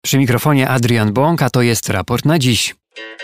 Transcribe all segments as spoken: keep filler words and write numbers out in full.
Przy mikrofonie Adrian Bąk, a to jest raport na dziś.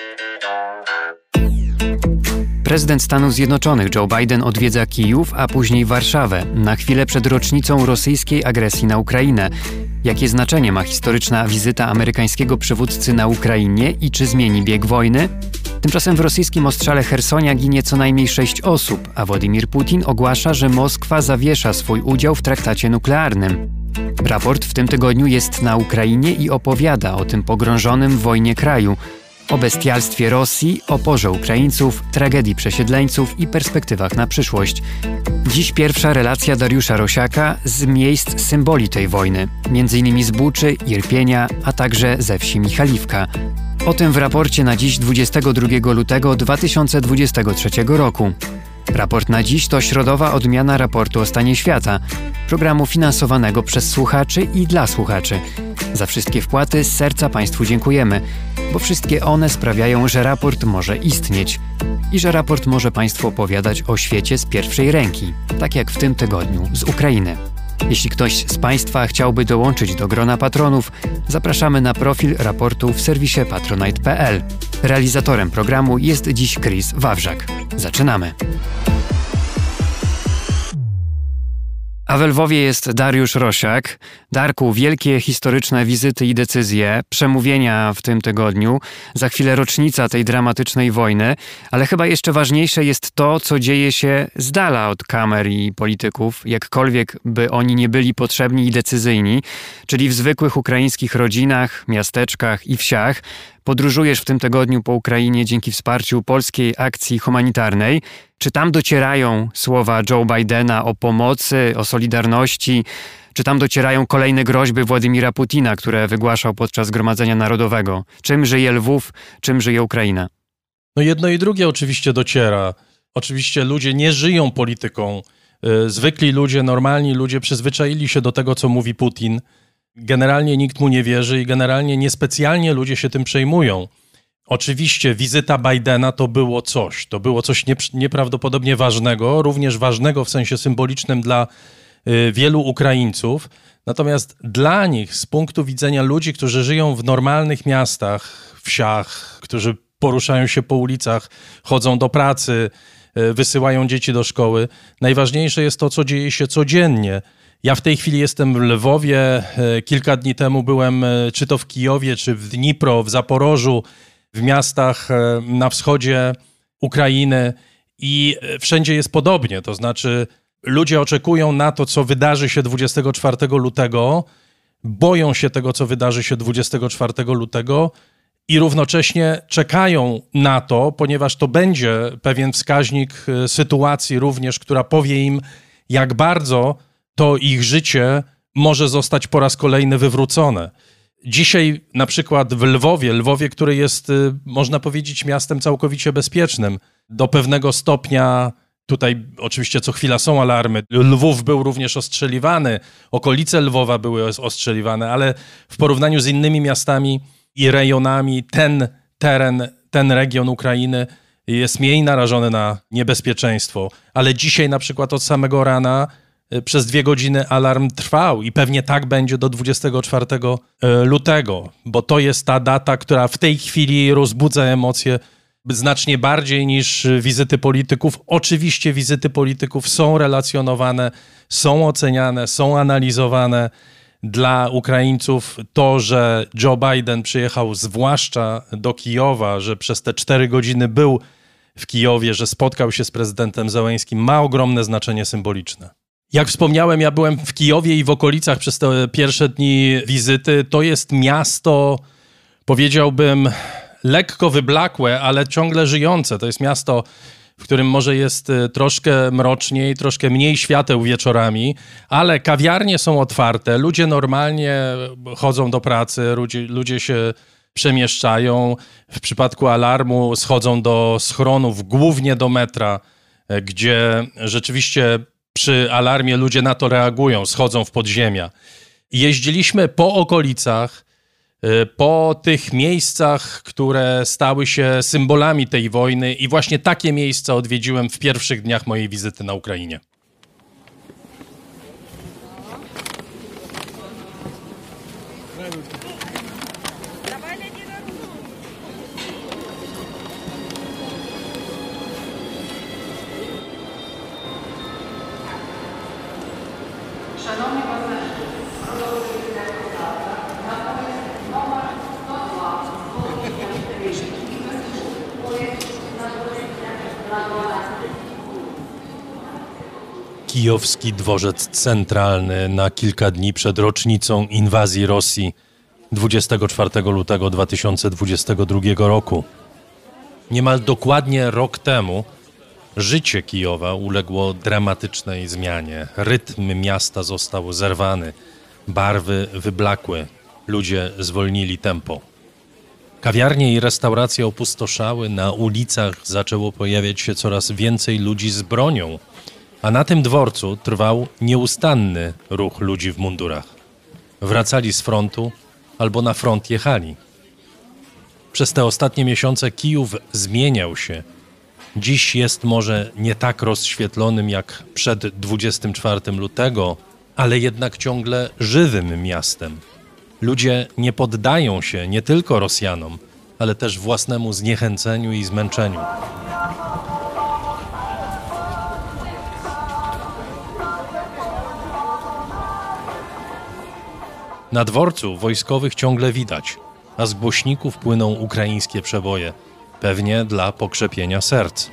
Prezydent Stanów Zjednoczonych Joe Biden odwiedza Kijów, a później Warszawę, na chwilę przed rocznicą rosyjskiej agresji na Ukrainę. Jakie znaczenie ma historyczna wizyta amerykańskiego przywódcy na Ukrainie i czy zmieni bieg wojny? Tymczasem w rosyjskim ostrzale Chersonia ginie co najmniej sześć osób, a Władimir Putin ogłasza, że Moskwa zawiesza swój udział w traktacie nuklearnym. Raport w tym tygodniu jest na Ukrainie i opowiada o tym pogrążonym w wojnie kraju, o bestialstwie Rosji, oporze Ukraińców, tragedii przesiedleńców i perspektywach na przyszłość. Dziś pierwsza relacja Dariusza Rosiaka z miejsc symboli tej wojny, między innymi z Buczy, Irpienia, a także ze wsi Michaliwka. O tym w raporcie na dziś dwudziestego drugiego lutego dwa tysiące dwudziestego trzeciego roku. Raport na dziś to środowa odmiana raportu o stanie świata, programu finansowanego przez słuchaczy i dla słuchaczy. Za wszystkie wpłaty z serca Państwu dziękujemy, bo wszystkie one sprawiają, że raport może istnieć i że raport może Państwu opowiadać o świecie z pierwszej ręki, tak jak w tym tygodniu z Ukrainy. Jeśli ktoś z Państwa chciałby dołączyć do grona patronów, zapraszamy na profil raportu w serwisie patronite kropka p l. Realizatorem programu jest dziś Chris Wawrzak. Zaczynamy. A w Lwowie jest Dariusz Rosiak. Darku, wielkie historyczne wizyty i decyzje, przemówienia w tym tygodniu, za chwilę rocznica tej dramatycznej wojny, ale chyba jeszcze ważniejsze jest to, co dzieje się z dala od kamer i polityków, jakkolwiek by oni nie byli potrzebni i decyzyjni, czyli w zwykłych ukraińskich rodzinach, miasteczkach i wsiach. Podróżujesz w tym tygodniu po Ukrainie dzięki wsparciu polskiej akcji humanitarnej. Czy tam docierają słowa Joe Bidena o pomocy, o solidarności? Czy tam docierają kolejne groźby Władimira Putina, które wygłaszał podczas Zgromadzenia Narodowego? Czym żyje Lwów, czym żyje Ukraina? No jedno i drugie oczywiście dociera. Oczywiście ludzie nie żyją polityką. Zwykli ludzie, normalni ludzie przyzwyczaili się do tego, co mówi Putin. Generalnie nikt mu nie wierzy i generalnie niespecjalnie ludzie się tym przejmują. Oczywiście wizyta Bidena to było coś, to było coś nieprawdopodobnie ważnego, również ważnego w sensie symbolicznym dla y, wielu Ukraińców. Natomiast dla nich, z punktu widzenia ludzi, którzy żyją w normalnych miastach, wsiach, którzy poruszają się po ulicach, chodzą do pracy, y, wysyłają dzieci do szkoły, najważniejsze jest to, co dzieje się codziennie. Ja w tej chwili jestem w Lwowie, kilka dni temu byłem czy to w Kijowie, czy w Dnipro, w Zaporożu, w miastach na wschodzie Ukrainy i wszędzie jest podobnie, to znaczy ludzie oczekują na to, co wydarzy się dwudziestego czwartego lutego, boją się tego, co wydarzy się dwudziestego czwartego lutego i równocześnie czekają na to, ponieważ to będzie pewien wskaźnik sytuacji również, która powie im, jak bardzo to ich życie może zostać po raz kolejny wywrócone. Dzisiaj na przykład w Lwowie, Lwowie, który jest, można powiedzieć, miastem całkowicie bezpiecznym, do pewnego stopnia, tutaj oczywiście co chwila są alarmy, Lwów był również ostrzeliwany, okolice Lwowa były ostrzeliwane, ale w porównaniu z innymi miastami i rejonami ten teren, ten region Ukrainy jest mniej narażony na niebezpieczeństwo. Ale dzisiaj na przykład od samego rana przez dwie godziny alarm trwał i pewnie tak będzie do dwudziestego czwartego lutego, bo to jest ta data, która w tej chwili rozbudza emocje znacznie bardziej niż wizyty polityków. Oczywiście wizyty polityków są relacjonowane, są oceniane, są analizowane. Dla Ukraińców to, że Joe Biden przyjechał zwłaszcza do Kijowa, że przez te cztery godziny był w Kijowie, że spotkał się z prezydentem Zełeńskim, ma ogromne znaczenie symboliczne. Jak wspomniałem, ja byłem w Kijowie i w okolicach przez te pierwsze dni wizyty. To jest miasto, powiedziałbym, lekko wyblakłe, ale ciągle żyjące. To jest miasto, w którym może jest troszkę mroczniej, troszkę mniej świateł wieczorami, ale kawiarnie są otwarte, ludzie normalnie chodzą do pracy, ludzie, ludzie się przemieszczają. W przypadku alarmu schodzą do schronów, głównie do metra, gdzie rzeczywiście przy alarmie ludzie na to reagują, schodzą w podziemia. Jeździliśmy po okolicach, po tych miejscach, które stały się symbolami tej wojny i właśnie takie miejsca odwiedziłem w pierwszych dniach mojej wizyty na Ukrainie. kijowski dworzec centralny na kilka dni przed rocznicą inwazji Rosji dwudziestego czwartego lutego dwa tysiące dwudziestego drugiego roku. Niemal dokładnie rok temu życie Kijowa uległo dramatycznej zmianie. Rytm miasta został zerwany, barwy wyblakły, ludzie zwolnili tempo. Kawiarnie i restauracje opustoszały, na ulicach zaczęło pojawiać się coraz więcej ludzi z bronią, a na tym dworcu trwał nieustanny ruch ludzi w mundurach. Wracali z frontu albo na front jechali. Przez te ostatnie miesiące Kijów zmieniał się. Dziś jest może nie tak rozświetlonym jak przed dwudziestego czwartego lutego, ale jednak ciągle żywym miastem. Ludzie nie poddają się nie tylko Rosjanom, ale też własnemu zniechęceniu i zmęczeniu. Na dworcu wojskowych ciągle widać, a z głośników płyną ukraińskie przeboje, pewnie dla pokrzepienia serc.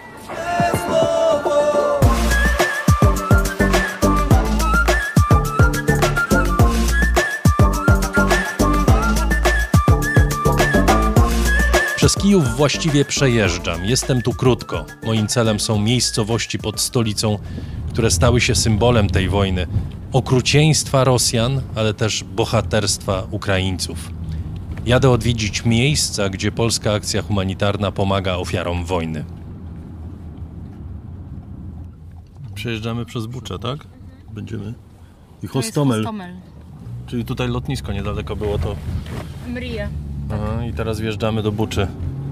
Przez Kijów właściwie przejeżdżam. Jestem tu krótko. Moim celem są miejscowości pod stolicą, które stały się symbolem tej wojny. Okrucieństwa Rosjan, ale też bohaterstwa Ukraińców. Jadę odwiedzić miejsca, gdzie polska akcja humanitarna pomaga ofiarom wojny. Przejeżdżamy przez Buczę, tak? Będziemy. I Hostomel. Hostomel. Czyli tutaj lotnisko niedaleko było to. Mrija. Aha, i teraz wjeżdżamy do Buczy.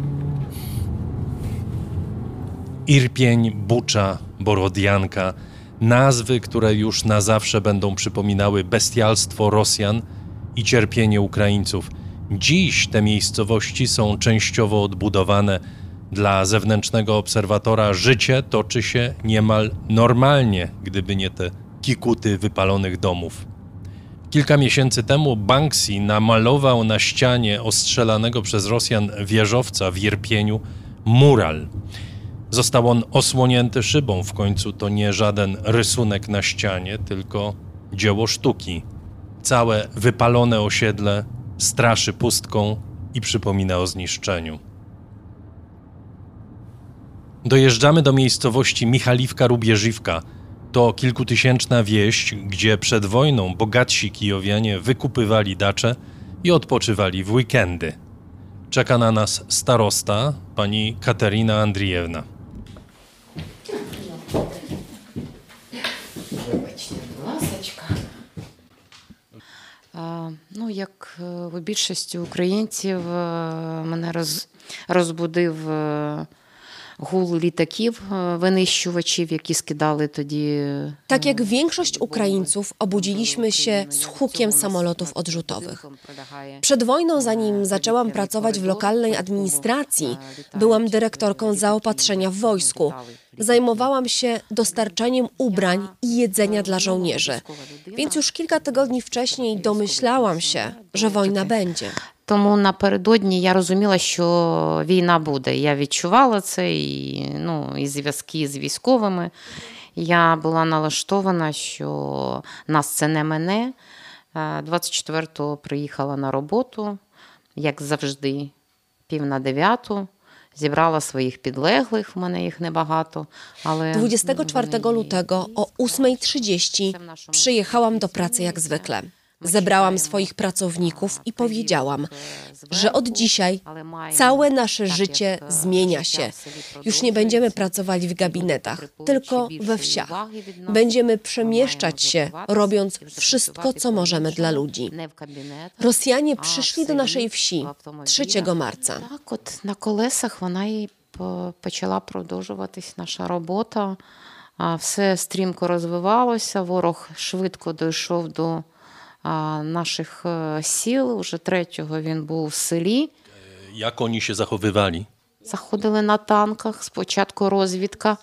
Irpień, Bucza, Borodianka. Nazwy, które już na zawsze będą przypominały bestialstwo Rosjan i cierpienie Ukraińców. Dziś te miejscowości są częściowo odbudowane. Dla zewnętrznego obserwatora życie toczy się niemal normalnie, gdyby nie te kikuty wypalonych domów. Kilka miesięcy temu Banksy namalował na ścianie ostrzelanego przez Rosjan wieżowca w Irpieniu mural. Został on osłonięty szybą, w końcu to nie żaden rysunek na ścianie, tylko dzieło sztuki. Całe wypalone osiedle straszy pustką i przypomina o zniszczeniu. Dojeżdżamy do miejscowości Michaliwka-Rubieżiwka. To kilkutysięczna wieś, gdzie przed wojną bogatsi kijowianie wykupywali dacze i odpoczywali w weekendy. Czeka na nas starosta, pani Katerina Andrijewna. Ну, як у більшості українців, мене роз, розбудив гул літаків, wynищувачів, які скидали тоді. Tak jak większość Ukraińców, obudziliśmy się z hukiem samolotów odrzutowych. Przed wojną, zanim zaczęłam pracować w lokalnej administracji, byłam dyrektorką zaopatrzenia w wojsku. Zajmowałam się dostarczaniem ubrań i jedzenia dla żołnierzy. Więc już kilka tygodni wcześniej domyślałam się, że wojna będzie. Тому напередодні я розуміла, що війна буде. Я відчувала це, і, ну, і зв'язки з військовими. Я була налаштована, що нас це не мене. двадцять четвертого приїхала на роботу, як завжди, пів на дев'яту. Zjebrała swoich підлеглих, w мене їх небагато, ale dwudziestego czwartego lutego o ósmej trzydzieści przyjechałam do pracy jak zwykle. Zebrałam swoich pracowników i powiedziałam, że od dzisiaj całe nasze życie zmienia się. Już nie będziemy pracować w gabinetach, tylko we wsiach. Będziemy przemieszczać się, robiąc wszystko, co możemy dla ludzi. Rosjanie przyszli do naszej wsi trzeciego marca. Так, от на колесах вона і почала продовжуватись наша робота. Все стрімко розвивалося, ворог швидко дійшов до naszych sił. Уже третього він був в селі. Jak oni się zachowywali? Заходили на танках, спочатку розвідка,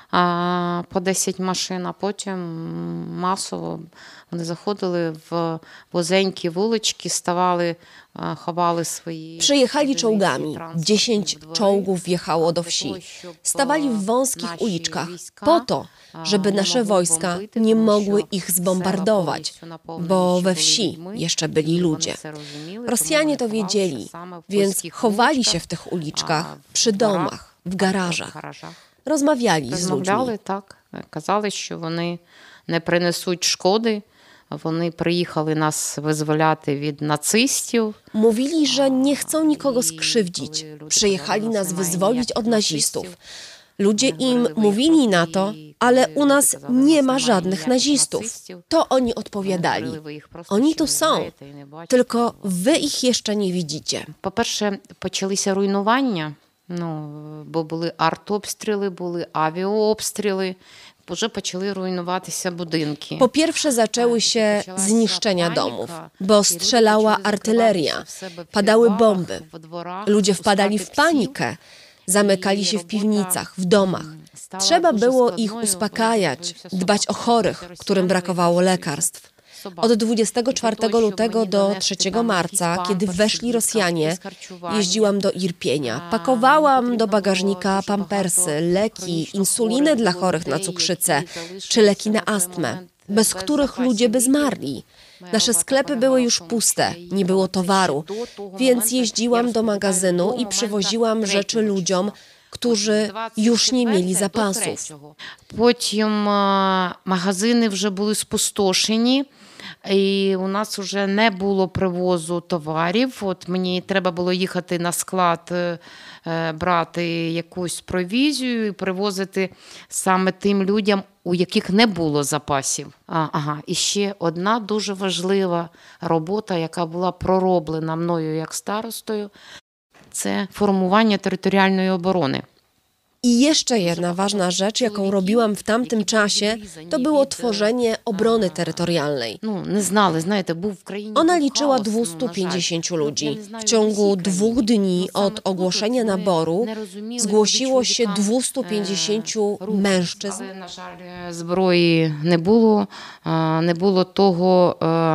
а, по десять машин, а потім масово вони заходили в wązенькі вулички, stawali, chowali swoje... Przyjechali czołgami. Dziesięć czołgów wjechało do wsi. Stawali w wąskich uliczkach po to, żeby nasze wojska nie mogły ich zbombardować, bo we wsi jeszcze byli ludzie. Rosjanie to wiedzieli, więc chowali się w tych uliczkach, przy domach, w garażach. Rozmawiali z ludźmi. Розмовляли, так. Казали, що вони не принесуть шкоди. Вони приїхали нас визволяти від нацистів. Mówili, że nie chcą nikogo skrzywdzić. Przyjechali nas wyzwolić od nazistów. Ludzie im mówili na to, ale u nas nie ma żadnych nazistów. To oni odpowiadali. Oni tu są, tylko wy ich jeszcze nie widzicie. По-перше, почалися руйнування, ну, бо були артобстріли, були авіаобстріли. Вже почали руйнуватися budynki. Po pierwsze zaczęły się zniszczenia domów, bo strzelała artyleria, padały bomby. Ludzie wpadali w panikę, zamykali się w piwnicach, w domach. Trzeba było ich uspokajać, dbać o chorych, którym brakowało lekarstw. Od dwudziestego czwartego lutego do trzeciego marca, kiedy weszli Rosjanie, jeździłam do Irpienia. Pakowałam do bagażnika pampersy, leki, insulinę dla chorych na cukrzycę czy leki na astmę, bez których ludzie by zmarli. Nasze sklepy były już puste, nie było towaru, więc jeździłam do magazynu i przywoziłam rzeczy ludziom, którzy już nie mieli zapasów. Потім магазини вже були спустошені. І у нас вже не було привозу товарів. От мені треба було їхати на склад, брати якусь провізію і привозити саме тим людям, у яких не було запасів. А, ага, і ще одна дуже важлива робота, яка була пророблена мною як старостою, це формування територіальної оборони. I jeszcze jedna ważna rzecz, jaką robiłam w tamtym czasie, to było tworzenie obrony terytorialnej. Ona liczyła dwieście pięćdziesięciu ludzi. W ciągu dwóch dni od ogłoszenia naboru zgłosiło się dwieście pięćdziesięciu mężczyzn. Na żal, зброї не було, не було того,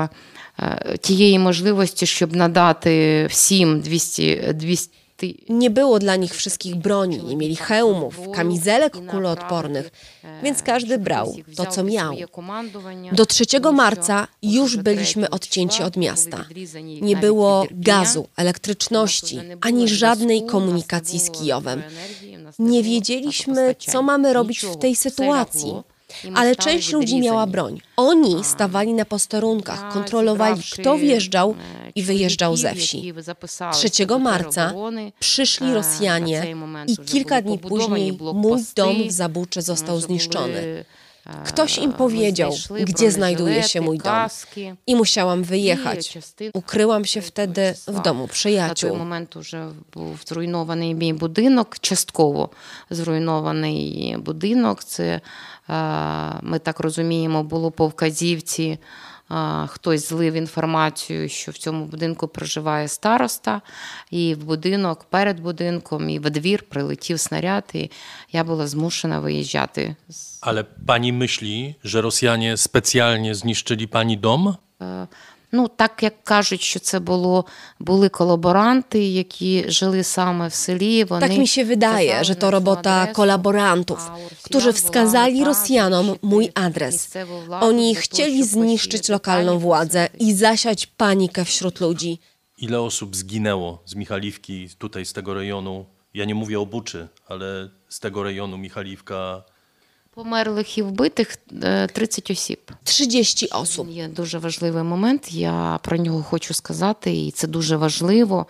тієї можливості, щоб надати всім двісті, двісті. Nie było dla nich wszystkich broni, nie mieli hełmów, kamizelek kuloodpornych, więc każdy brał to, co miał. Do trzeciego marca już byliśmy odcięci od miasta. Nie było gazu, elektryczności, ani żadnej komunikacji z Kijowem. Nie wiedzieliśmy, co mamy robić w tej sytuacji. Ale część ludzi miała broń. Oni stawali na posterunkach, kontrolowali, kto wjeżdżał i wyjeżdżał ze wsi. trzeciego marca przyszli Rosjanie i kilka dni później mój dom w Zabuczy został zniszczony. Ktoś im powiedział, gdzie znajduje się mój dom i musiałam wyjechać. Ukryłam się wtedy w domu przyjaciół. Na ten moment już był zrujnowany mój budynek, частково зруйнований будинок. Це, ми так розуміємо, було по вказівці. Хтось злив інформацію, що в цьому будинку проживає староста, і в будинок, перед будинком, і в двір прилетів снаряд, і я була змушена виїжджати. Ale pani myśli, że Rosjanie specjalnie zniszczyli pani dom? Ну, так як кажуть, що це було, були колаборанти, які жили саме w селі. Вони tak mi się wydaje, że to robota kolaborantów, którzy wskazali Rosjanom mój adres. Oni chcieli zniszczyć lokalną władzę i zasiać panikę wśród ludzi. Ile osób zginęło z Michaliwki, tutaj z tego rejonu? Ja nie mówię o Buczy, ale z tego rejonu Michaliwka. Померлих і вбитих тридцять осіб. trzydzieści osób. Є дуже важливий момент, я про нього хочу сказати, і це дуже важливо.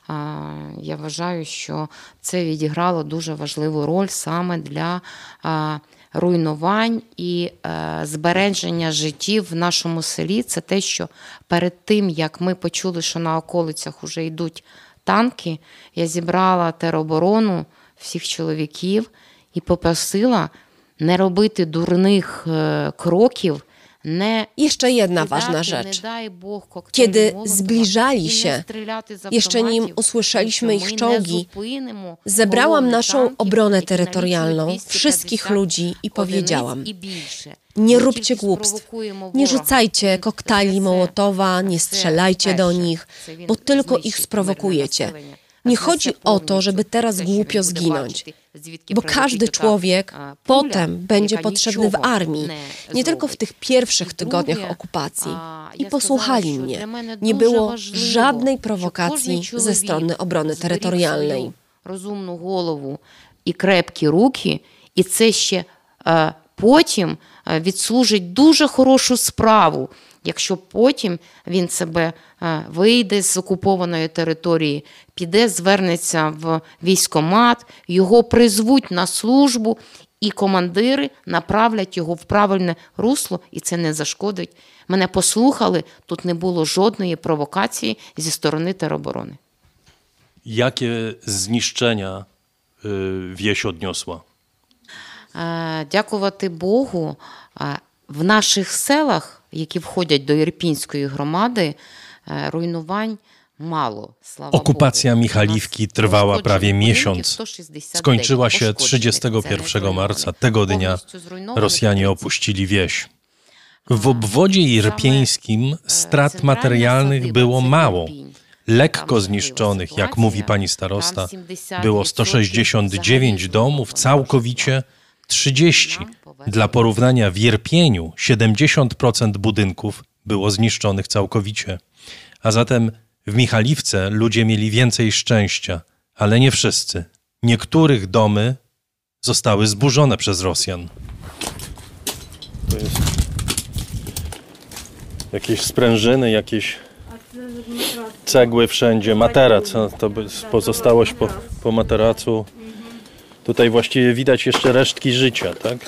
Я вважаю, що це відіграло дуже важливу роль саме для руйнувань і збереження життів в нашому селі. Це те, що перед тим, як ми почули, що на околицях вже йдуть танки, я зібрала тероборону всіх чоловіків і попросила не робити дурних кроків, Jeszcze jedna ważna rzecz. Kiedy zbliżali się, jeszcze nim usłyszeliśmy ich czołgi, zebrałam naszą obronę terytorialną, wszystkich ludzi i powiedziałam: nie róbcie głupstw, nie rzucajcie koktajli Mołotowa, nie strzelajcie do nich, bo tylko ich sprowokujecie. Nie chodzi o to, żeby teraz głupio zginąć, bo każdy człowiek potem będzie potrzebny w armii, nie tylko w tych pierwszych tygodniach okupacji. I posłuchali mnie. Nie było żadnej prowokacji ze strony obrony terytorialnej. Розумну голову і крепкі руки, і це ще е, потім відслужить дуже хорошу справу, якщо потім він себе е, вийде з окупованої території, піде, звернеться в військкомат, його призвуть на службу, і командири направлять його в правильне русло, і це не зашкодить. Мене послухали, тут не було жодної провокації зі сторони тероборони. Jakie zniszczenia y, wieś odniosła? Дякувати Богу, в наших селах, які входять до Ірпінської громади, руйнувань mало. Okupacja Michaliwki trwała prawie miesiąc. Skończyła się trzydziestego pierwszego marca. Tego dnia Rosjanie opuścili wieś. W obwodzie irpieńskim strat materialnych było mało. Lekko zniszczonych, jak mówi pani starosta, było sto sześćdziesiąt dziewięć domów, całkowicie trzydzieści. Dla porównania w Irpieniu siedemdziesiąt procent budynków było zniszczonych całkowicie. A zatem w Michaliwce ludzie mieli więcej szczęścia, ale nie wszyscy. Niektórych domy zostały zburzone przez Rosjan. To jest jakieś sprężyny, jakieś cegły wszędzie, materac, to pozostałość po, po materacu. Tutaj właściwie widać jeszcze resztki życia, tak?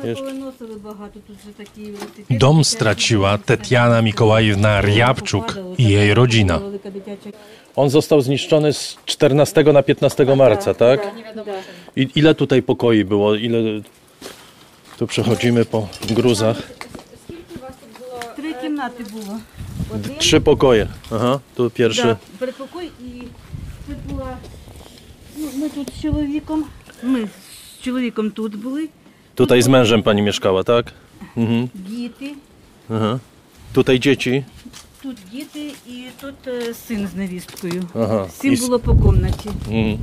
Dom straciła Tetiana Mikołajewna Rjabczuk i jej rodzina. On został zniszczony z czternastego na piętnastego marca, tak? I ile tutaj pokoi było? Ile tu przechodzimy po gruzach? Три кімнати було. Trzy pokoje. Aha, tu pierwszy. Да, передпокой і це була. Ну, ми тут з чоловіком. Ми з чоловіком тут були. Tutaj z mężem pani mieszkała, tak? Mhm. Діти. Aha. Tutaj dzieci. Тут діти і тут е, син з невісткою. Ага. Всім І с- було по кімнаті. Mhm.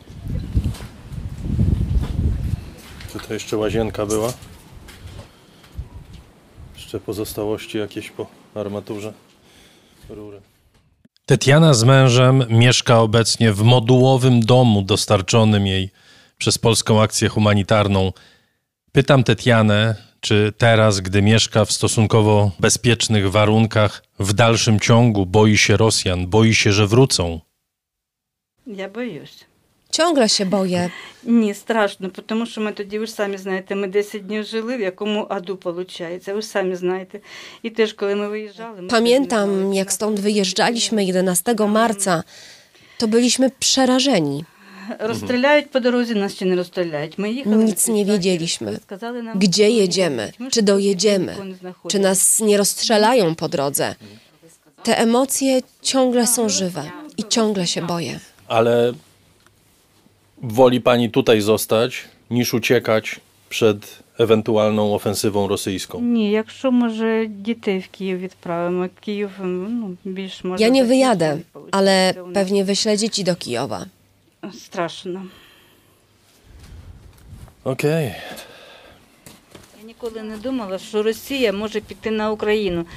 Tutaj jeszcze łazienka była. Jeszcze pozostałości jakieś po armaturze. Rury. Tetiana z mężem mieszka obecnie w modułowym domu dostarczonym jej przez Polską Akcję Humanitarną. Pytam Tetianę, czy teraz, gdy mieszka w stosunkowo bezpiecznych warunkach, w dalszym ciągu boi się Rosjan, boi się, że wrócą. Я боюсь. Ciągle się boję. Ні, страшно, тому що ми тоді, ви ж самі знаєте, ми десять днів жили, в якому аду, виходить, ви ж самі знаєте. І теж, коли ми виїжджали... Ми Pamiętam, jak stąd wyjeżdżaliśmy jedenastego marca, to byliśmy przerażeni. Rozstrzelaють po drodze, nas ще не розстріляють. Ми їхали... Nic nie wiedzieliśmy. Gdzie jedziemy? Czy dojedziemy? Czy nas nie rozstrzelają po drodze? Te emocje ciągle są żywe i ciągle się boję. Ale woli pani tutaj zostać, niż uciekać przed ewentualną ofensywą rosyjską? Ні, якщо, може, дітей в Київ відправимо, Київ, ну, більш може... Ja nie wyjadę, ale pewnie wyślę dzieci do Kijowa. Страшно. Okej. Я ніколи не думала, що Росія може піти на Україну.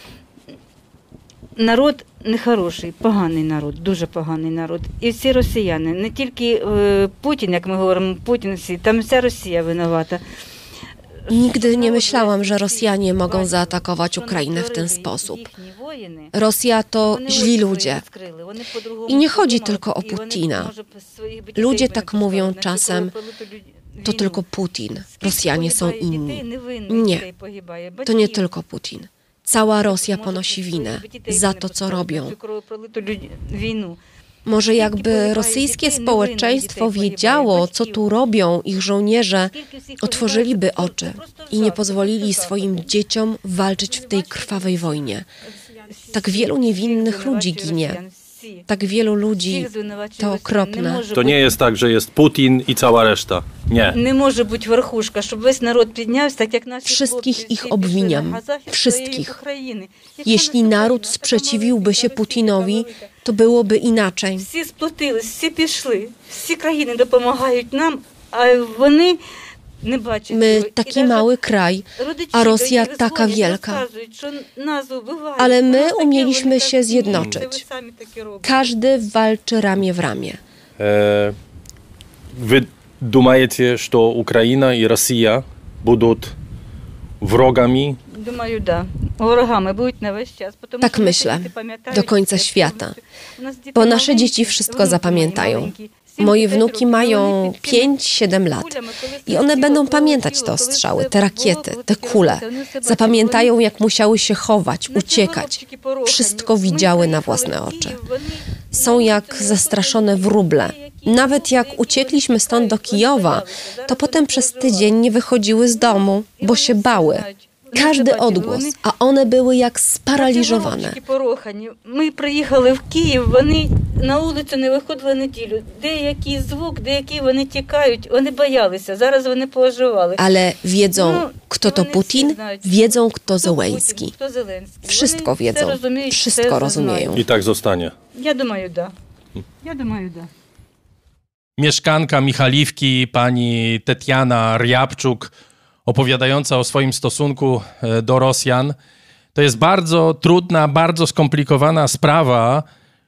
Народ нехороший, поганий народ, дуже поганий народ. І всі росіяни, не тільки е, Путін, як ми говоримо, Путін всі, там вся Росія винувата. Nigdy nie myślałam, że Rosjanie mogą zaatakować Ukrainę w ten sposób. Rosja to źli ludzie. I nie chodzi tylko o Putina. Ludzie tak mówią czasem, to tylko Putin. Rosjanie są inni. Nie, to nie tylko Putin. Cała Rosja ponosi winę za to, co robią. Może jakby rosyjskie społeczeństwo wiedziało, co tu robią ich żołnierze, otworzyliby oczy i nie pozwolili swoim dzieciom walczyć w tej krwawej wojnie. Tak wielu niewinnych ludzi ginie. Tak wielu ludzi, to okropne. To nie jest tak, że jest Putin i cała reszta. Nie. Nie może być верхушка, żeby весь naród піднявся, tak jak nasi Wszystkich ich obwiniam. Wszystkich. Jeśli naród sprzeciwiłby się Putinowi, to byłoby inaczej. Всі сплотились, всі пішли, всі країни допомагають нам, а вони не бачать. My taki mały kraj, a Rosja taka wielka. Ale my umieliśmy się zjednoczyć. Każdy walczy ramię w ramię. E, wy думаете, что Украина и Россия будут wrogami? Tak myślę, do końca świata. Bo nasze dzieci wszystko zapamiętają. Moje wnuki mają pięć siedem lat i one będą pamiętać te ostrzały, te rakiety, te kule. Zapamiętają, jak musiały się chować, uciekać. Wszystko widziały na własne oczy. Są jak zastraszone wróble. Nawet jak uciekliśmy stąd do Kijowa, to potem przez tydzień nie wychodziły z domu, bo się bały. Każdy odgłos, a one były jak sparaliżowane. My przyjechali w Kijów, вони на вулицю не виходили неділю. Деякий звук, деякі вони тікають, вони боялися. Зараз вони пооживали. Ale wiedzą, kto to Putin, wiedzą, kto Zełenski. Wszystko wiedzą, wszystko rozumieją. I tak zostanie. Ja думаю, да. Ja думаю, да. Mieszkanka Michaliwki, pani Tetiana Ryabczuk, opowiadająca o swoim stosunku do Rosjan. To jest bardzo trudna, bardzo skomplikowana sprawa,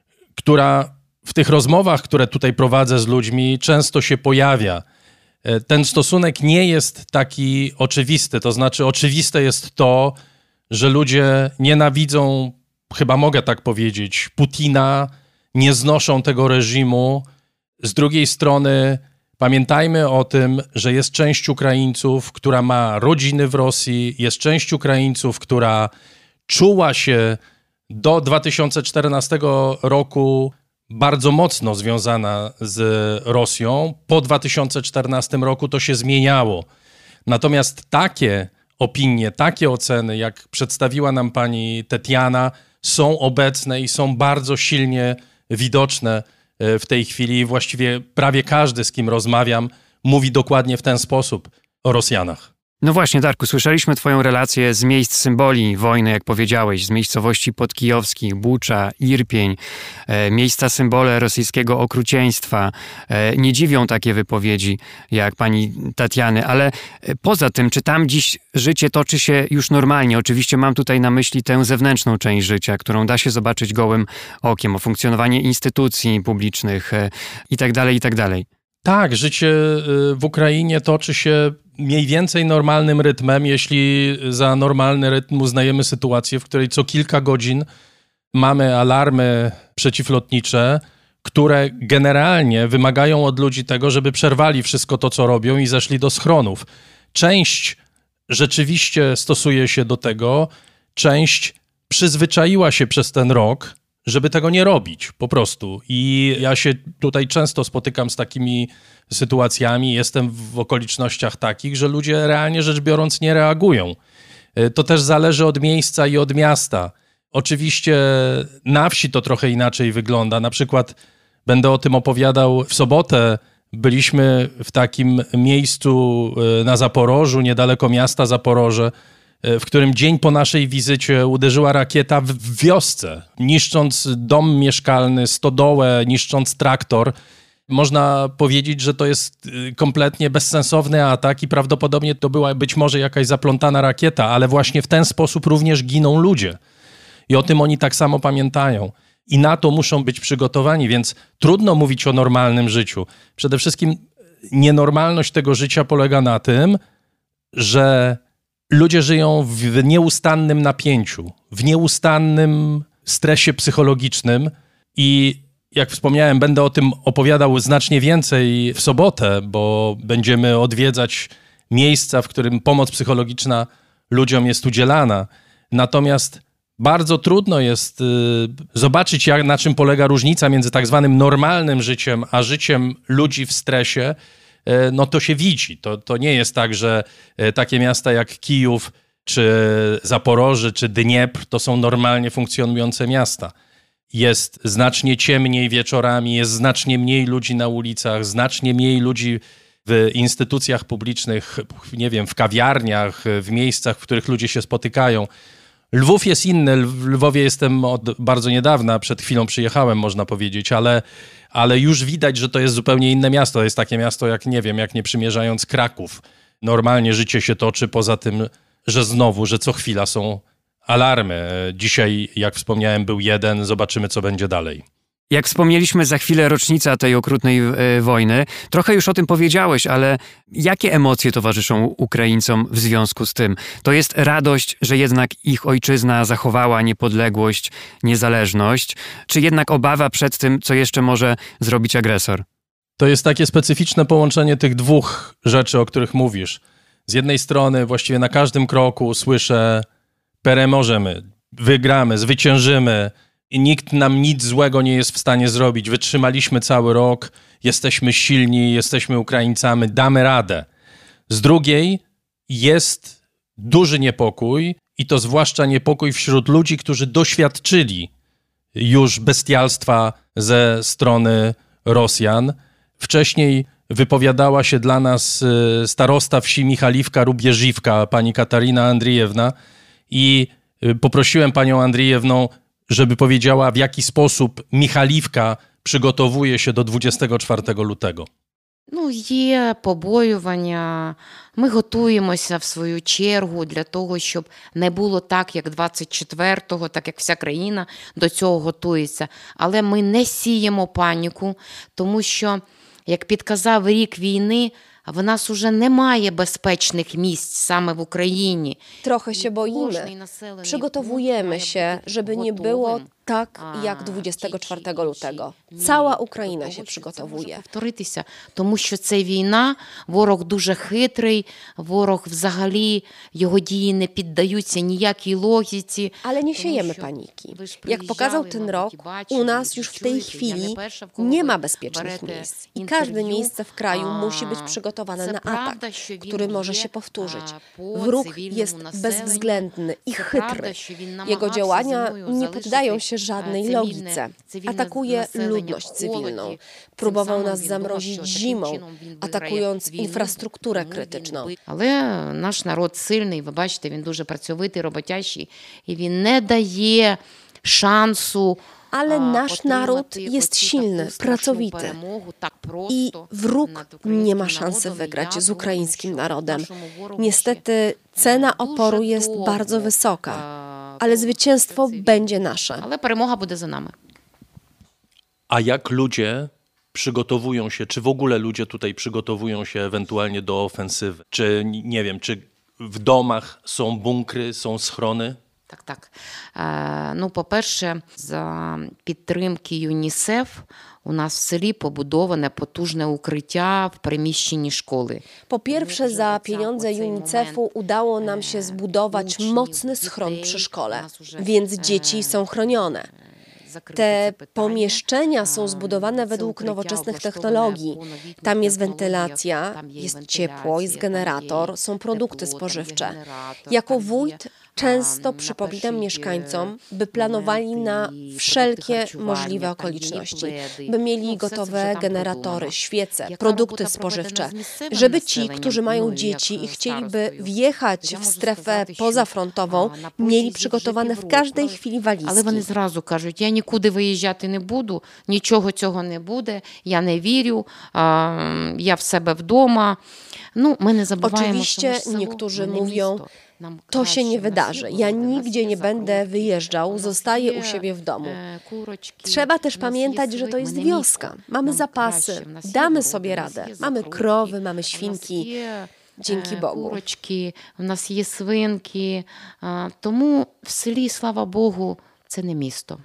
która w tych rozmowach, które tutaj prowadzę z ludźmi, często się pojawia. Ten stosunek nie jest taki oczywisty. To znaczy oczywiste jest to, że ludzie nienawidzą, chyba mogę tak powiedzieć, Putina, nie znoszą tego reżimu. Z drugiej strony pamiętajmy o tym, że jest część Ukraińców, która ma rodziny w Rosji, jest część Ukraińców, która czuła się do dwa tysiące czternastego roku bardzo mocno związana z Rosją. Po dwa tysiące czternastym roku to się zmieniało. Natomiast takie opinie, takie oceny, jak przedstawiła nam pani Tetiana, są obecne i są bardzo silnie widoczne w tej chwili. Właściwie prawie każdy, z kim rozmawiam, mówi dokładnie w ten sposób o Rosjanach. No właśnie, Darku, słyszeliśmy twoją relację z miejsc symboli wojny, jak powiedziałeś, z miejscowości podkijowskich, Bucza, Irpień, e, miejsca symbole rosyjskiego okrucieństwa. E, nie dziwią takie wypowiedzi jak pani Tatiany, ale poza tym, czy tam dziś życie toczy się już normalnie? Oczywiście mam tutaj na myśli tę zewnętrzną część życia, którą da się zobaczyć gołym okiem, o funkcjonowanie instytucji publicznych e, i tak dalej, i tak dalej. Tak, życie w Ukrainie toczy się mniej więcej normalnym rytmem, jeśli za normalny rytm uznajemy sytuację, w której co kilka godzin mamy alarmy przeciwlotnicze, które generalnie wymagają od ludzi tego, żeby przerwali wszystko to, co robią i zeszli do schronów. Część rzeczywiście stosuje się do tego, część przyzwyczaiła się przez ten rok, żeby tego nie robić, po prostu. I ja się tutaj często spotykam z takimi sytuacjami, jestem w okolicznościach takich, że ludzie realnie rzecz biorąc nie reagują. To też zależy od miejsca i od miasta. Oczywiście na wsi to trochę inaczej wygląda. Na przykład będę o tym opowiadał w sobotę. Byliśmy w takim miejscu na Zaporożu, niedaleko miasta Zaporoże, w którym dzień po naszej wizycie uderzyła rakieta w wiosce, niszcząc dom mieszkalny, stodołę, niszcząc traktor. Można powiedzieć, że to jest kompletnie bezsensowny atak i prawdopodobnie to była być może jakaś zaplątana rakieta, ale właśnie w ten sposób również giną ludzie. I o tym oni tak samo pamiętają. I na to muszą być przygotowani, więc trudno mówić o normalnym życiu. Przede wszystkim nienormalność tego życia polega na tym, że ludzie żyją w nieustannym napięciu, w nieustannym stresie psychologicznym i jak wspomniałem, będę o tym opowiadał znacznie więcej w sobotę, bo będziemy odwiedzać miejsca, w którym pomoc psychologiczna ludziom jest udzielana. Natomiast Bardzo trudno jest y, zobaczyć, jak, na czym polega różnica między tak zwanym normalnym życiem, a życiem ludzi w stresie. Y, no to się widzi. To, to nie jest tak, że y, takie miasta jak Kijów, czy Zaporoże, czy Dniepr to są normalnie funkcjonujące miasta. Jest znacznie ciemniej wieczorami, jest znacznie mniej ludzi na ulicach, znacznie mniej ludzi w instytucjach publicznych, nie wiem, w kawiarniach, w miejscach, w których ludzie się spotykają. Lwów jest inny. W Lwowie jestem od bardzo niedawna, przed chwilą przyjechałem, można powiedzieć, ale, ale już widać, że to jest zupełnie inne miasto. To jest takie miasto, jak nie wiem, jak nie przymierzając Kraków. Normalnie życie się toczy, poza tym, że znowu, że co chwila są alarmy. Dzisiaj, jak wspomniałem, był jeden, zobaczymy, co będzie dalej. Jak wspomnieliśmy, za chwilę rocznica tej okrutnej y, wojny. Trochę już o tym powiedziałeś, ale jakie emocje towarzyszą Ukraińcom w związku z tym? To jest radość, że jednak ich ojczyzna zachowała niepodległość, niezależność, czy jednak obawa przed tym, co jeszcze może zrobić agresor? To jest takie specyficzne połączenie tych dwóch rzeczy, o których mówisz. Z jednej strony właściwie na każdym kroku słyszę: peremożemy, wygramy, zwyciężymy i nikt nam nic złego nie jest w stanie zrobić. Wytrzymaliśmy cały rok, jesteśmy silni, jesteśmy Ukraińcami, damy radę. Z drugiej jest duży niepokój i to zwłaszcza niepokój wśród ludzi, którzy doświadczyli już bestialstwa ze strony Rosjan. Wcześniej wypowiadała się dla nas starosta wsi Michaliwka-Rubieżiwka, pani Katarina Andrijewna, i poprosiłem panią Andrijewną, żeby powiedziała, w jaki sposób Michaliwka przygotowuje się do dwudziestego czwartego lutego. Ну, є побоювання. Ми готуємося в свою чергу для того, щоб не було так, як двадцять четвертого, так як вся країна до цього готується. Але ми не сіємо паніку, тому що, як підказав рік війни, в нас уже немає безпечnych miejsc same w Ukrainie. Trochę się boimy. Przygotowujemy się, żeby nie było tak jak dwudziestego czwartego lutego. Cała Ukraina się przygotowuje. Повторитися, тому що це війна, ворог дуже хитрий, ворог взагалі, його дії не піддаються ніякій логіці. Ale nie siejemy paniki. Jak pokazał ten rok, u nas już w tej chwili nie ma bezpiecznych miejsc. I każde miejsce w kraju musi być przygotowane na atak, który może się powtórzyć. Wróg jest bezwzględny i chytry. Jego działania nie poddają się żadnej logice. Atakuje ludność cywilną. Próbował nas zamrozić zimą, atakując infrastrukturę krytyczną. Але наш народ сильний, ви бачите, він дуже працьовитий, роботящий, і він не дає шансу. Ale nasz naród jest silny, pracowity i wróg nie ma szansy wygrać z ukraińskim narodem. Niestety cena oporu jest bardzo wysoka, ale zwycięstwo będzie nasze. Ale перемога буде за нами. A jak ludzie przygotowują się, czy w ogóle ludzie tutaj przygotowują się ewentualnie do ofensywy? Czy, nie wiem, czy w domach są bunkry, są schrony? Так, так. Е, ну, по-перше, за підтримки ЮНІСЕФ у нас в селі побудоване потужне укриття w приміщенні szkoły. Po pierwsze, za pieniądze UNICEF-u udało nam się zbudować mocny schron przy szkole, więc dzieci są chronione. Te pomieszczenia są zbudowane według nowoczesnych technologii. Tam jest wentylacja, jest ciepło, jest generator, są produkty spożywcze. Jako wójt często przypominam mieszkańcom, by planowali na wszelkie możliwe okoliczności, by mieli gotowe generatory, świece, produkty spożywcze, żeby ci, którzy mają dzieci i chcieliby wjechać w strefę pozafrontową, mieli przygotowane w każdej chwili walizki. Але вони зразу кажуть, я нікуди виїжджати не буду, нічого цього не буде, я не вірю, я в себе вдома. Ну, ми не забуваємо, Oczywiście niektórzy mówią, to się nie wydarzy. Ja nigdzie nie będę wyjeżdżał, zostaję u siebie w domu. Trzeba też pamiętać, że to jest wioska. Mamy zapasy, damy sobie radę. Mamy krowy, mamy świnki. Dzięki Bogu. Курочки, в нас є свинки. Тому в селі, слава Богу, це не місто.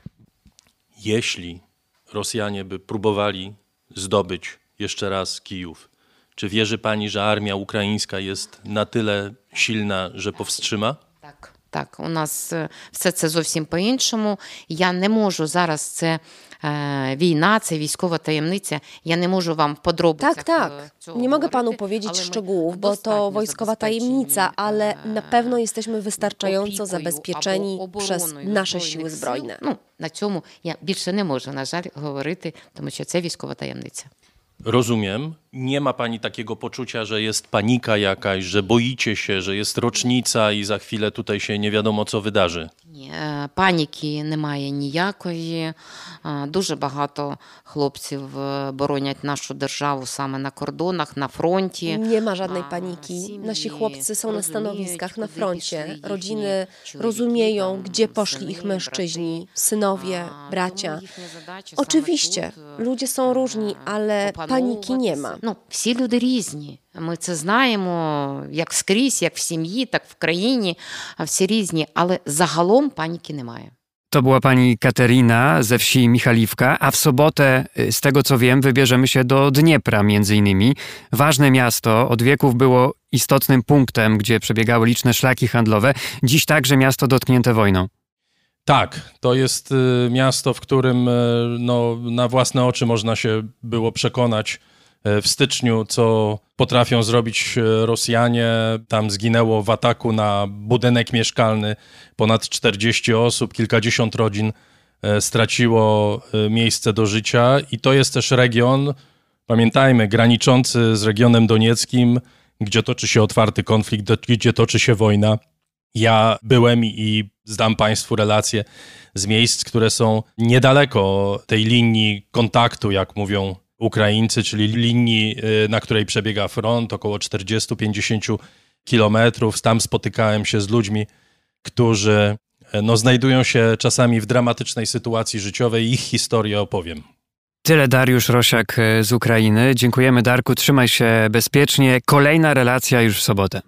Jeśli Rosjanie by próbowali zdobyć jeszcze raz Kijów, czy wierzy pani, że armia ukraińska jest na tyle silna, że powstrzyma? Так, Так, у нас все це зовсім по-іншому. Я не можу зараз, це е, wojna, це військова таємниця, ja nie можу вам w podrobnicach Tak, tak. Nie mogę panu powiedzieć szczegółów, bo to wojskowa tajemnica, ale na pewno jesteśmy wystarczająco zabezpieczeni przez nasze siły zbrojne. Ну, на цьому я більше не можу, на жаль, говорити, тому що це військова таємниця. Rozumiem. Nie ma pani takiego poczucia, że jest panika jakaś, że boicie się, że jest rocznica i za chwilę tutaj się nie wiadomo, co wydarzy? Ні, паніки немає ніякої. Дуже багато хлопців боронять нашу державу саме на кордонах, на фронті. Nie ma żadnej paniki. Nasi chłopcy są na stanowiskach na froncie. Rodziny rozumieją, gdzie poszli ich mężczyźni, synowie, bracia. Oczywiście, ludzie są różni, ale paniki nie ma. Ну, всі люди різні. Ми це знаємо, як скрізь, як в сім'ї, так в країні. Всі різні, але загалом паніки немає. To była pani Katerina ze wsi Michaliwka, a w sobotę, z tego co wiem, wybierzemy się do Dniepra między innymi. Ważne miasto, od wieków było istotnym punktem, gdzie przebiegały liczne szlaki handlowe. Dziś także miasto dotknięte wojną. Tak, to jest y, miasto, w którym y, no, na własne oczy można się było przekonać y, w styczniu, co potrafią zrobić Rosjanie. Tam zginęło w ataku na budynek mieszkalny ponad czterdzieści osób, kilkadziesiąt rodzin y, straciło y, miejsce do życia i to jest też region, pamiętajmy, graniczący z regionem donieckim, gdzie toczy się otwarty konflikt, gdzie toczy się wojna. Ja byłem i zdam Państwu relacje z miejsc, które są niedaleko tej linii kontaktu, jak mówią Ukraińcy, czyli linii, na której przebiega front, około czterdzieści do pięćdziesięciu kilometrów. Tam spotykałem się z ludźmi, którzy no, znajdują się czasami w dramatycznej sytuacji życiowej. Ich historię opowiem. Tyle Dariusz Rosiak z Ukrainy. Dziękujemy, Darku, trzymaj się bezpiecznie. Kolejna relacja już w sobotę.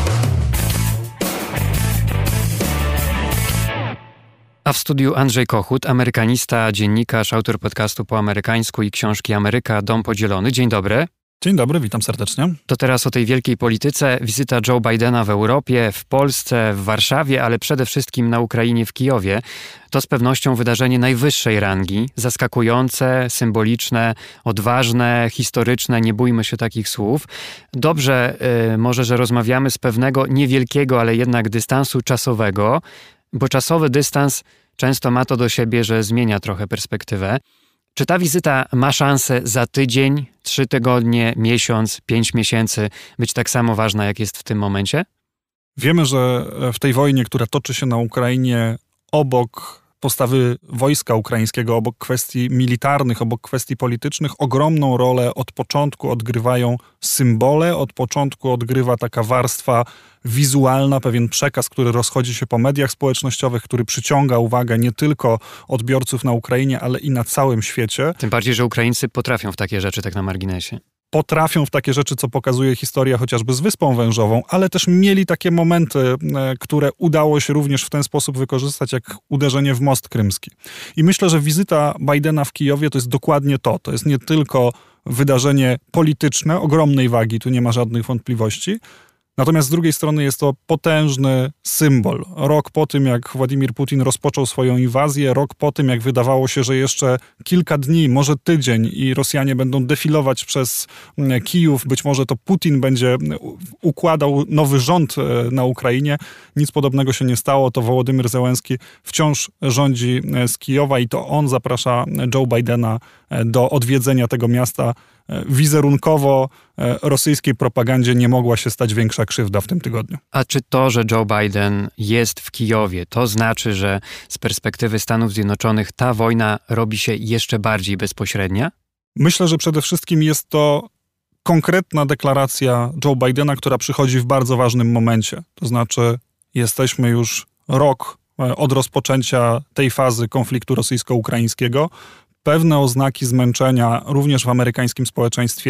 A w studiu Andrzej Kochut, amerykanista, dziennikarz, autor podcastu po amerykańsku i książki Ameryka, Dom Podzielony. Dzień dobry. Dzień dobry, witam serdecznie. To teraz o tej wielkiej polityce. Wizyta Joe Bidena w Europie, w Polsce, w Warszawie, ale przede wszystkim na Ukrainie, w Kijowie. To z pewnością wydarzenie najwyższej rangi. Zaskakujące, symboliczne, odważne, historyczne. Nie bójmy się takich słów. Dobrze, yy, może, że rozmawiamy z pewnego niewielkiego, ale jednak dystansu czasowego, bo czasowy dystans często ma to do siebie, że zmienia trochę perspektywę. Czy ta wizyta ma szansę za tydzień, trzy tygodnie, miesiąc, pięć miesięcy być tak samo ważna, jak jest w tym momencie? Wiemy, że w tej wojnie, która toczy się na Ukrainie, obok postawy wojska ukraińskiego, obok kwestii militarnych, obok kwestii politycznych, ogromną rolę od początku odgrywają symbole, od początku odgrywa taka warstwa wizualna, pewien przekaz, który rozchodzi się po mediach społecznościowych, który przyciąga uwagę nie tylko odbiorców na Ukrainie, ale i na całym świecie. Tym bardziej, że Ukraińcy potrafią w takie rzeczy, tak na marginesie. Potrafią w takie rzeczy, co pokazuje historia chociażby z Wyspą Wężową, ale też mieli takie momenty, które udało się również w ten sposób wykorzystać, jak uderzenie w most krymski. I myślę, że wizyta Bidena w Kijowie to jest dokładnie to. To jest nie tylko wydarzenie polityczne, ogromnej wagi, tu nie ma żadnych wątpliwości, natomiast z drugiej strony jest to potężny symbol. Rok po tym, jak Władimir Putin rozpoczął swoją inwazję, rok po tym, jak wydawało się, że jeszcze kilka dni, może tydzień i Rosjanie będą defilować przez Kijów, być może to Putin będzie układał nowy rząd na Ukrainie. Nic podobnego się nie stało. To Wołodymyr Zełenski wciąż rządzi z Kijowa i to on zaprasza Joe Bidena do odwiedzenia tego miasta. Wizerunkowo rosyjskiej propagandzie nie mogła się stać większa krzywda w tym tygodniu. A czy to, że Joe Biden jest w Kijowie, to znaczy, że z perspektywy Stanów Zjednoczonych ta wojna robi się jeszcze bardziej bezpośrednia? Myślę, że przede wszystkim jest to konkretna deklaracja Joe Bidena, która przychodzi w bardzo ważnym momencie. To znaczy jesteśmy już rok od rozpoczęcia tej fazy konfliktu rosyjsko-ukraińskiego. Pewne oznaki zmęczenia również w amerykańskim społeczeństwie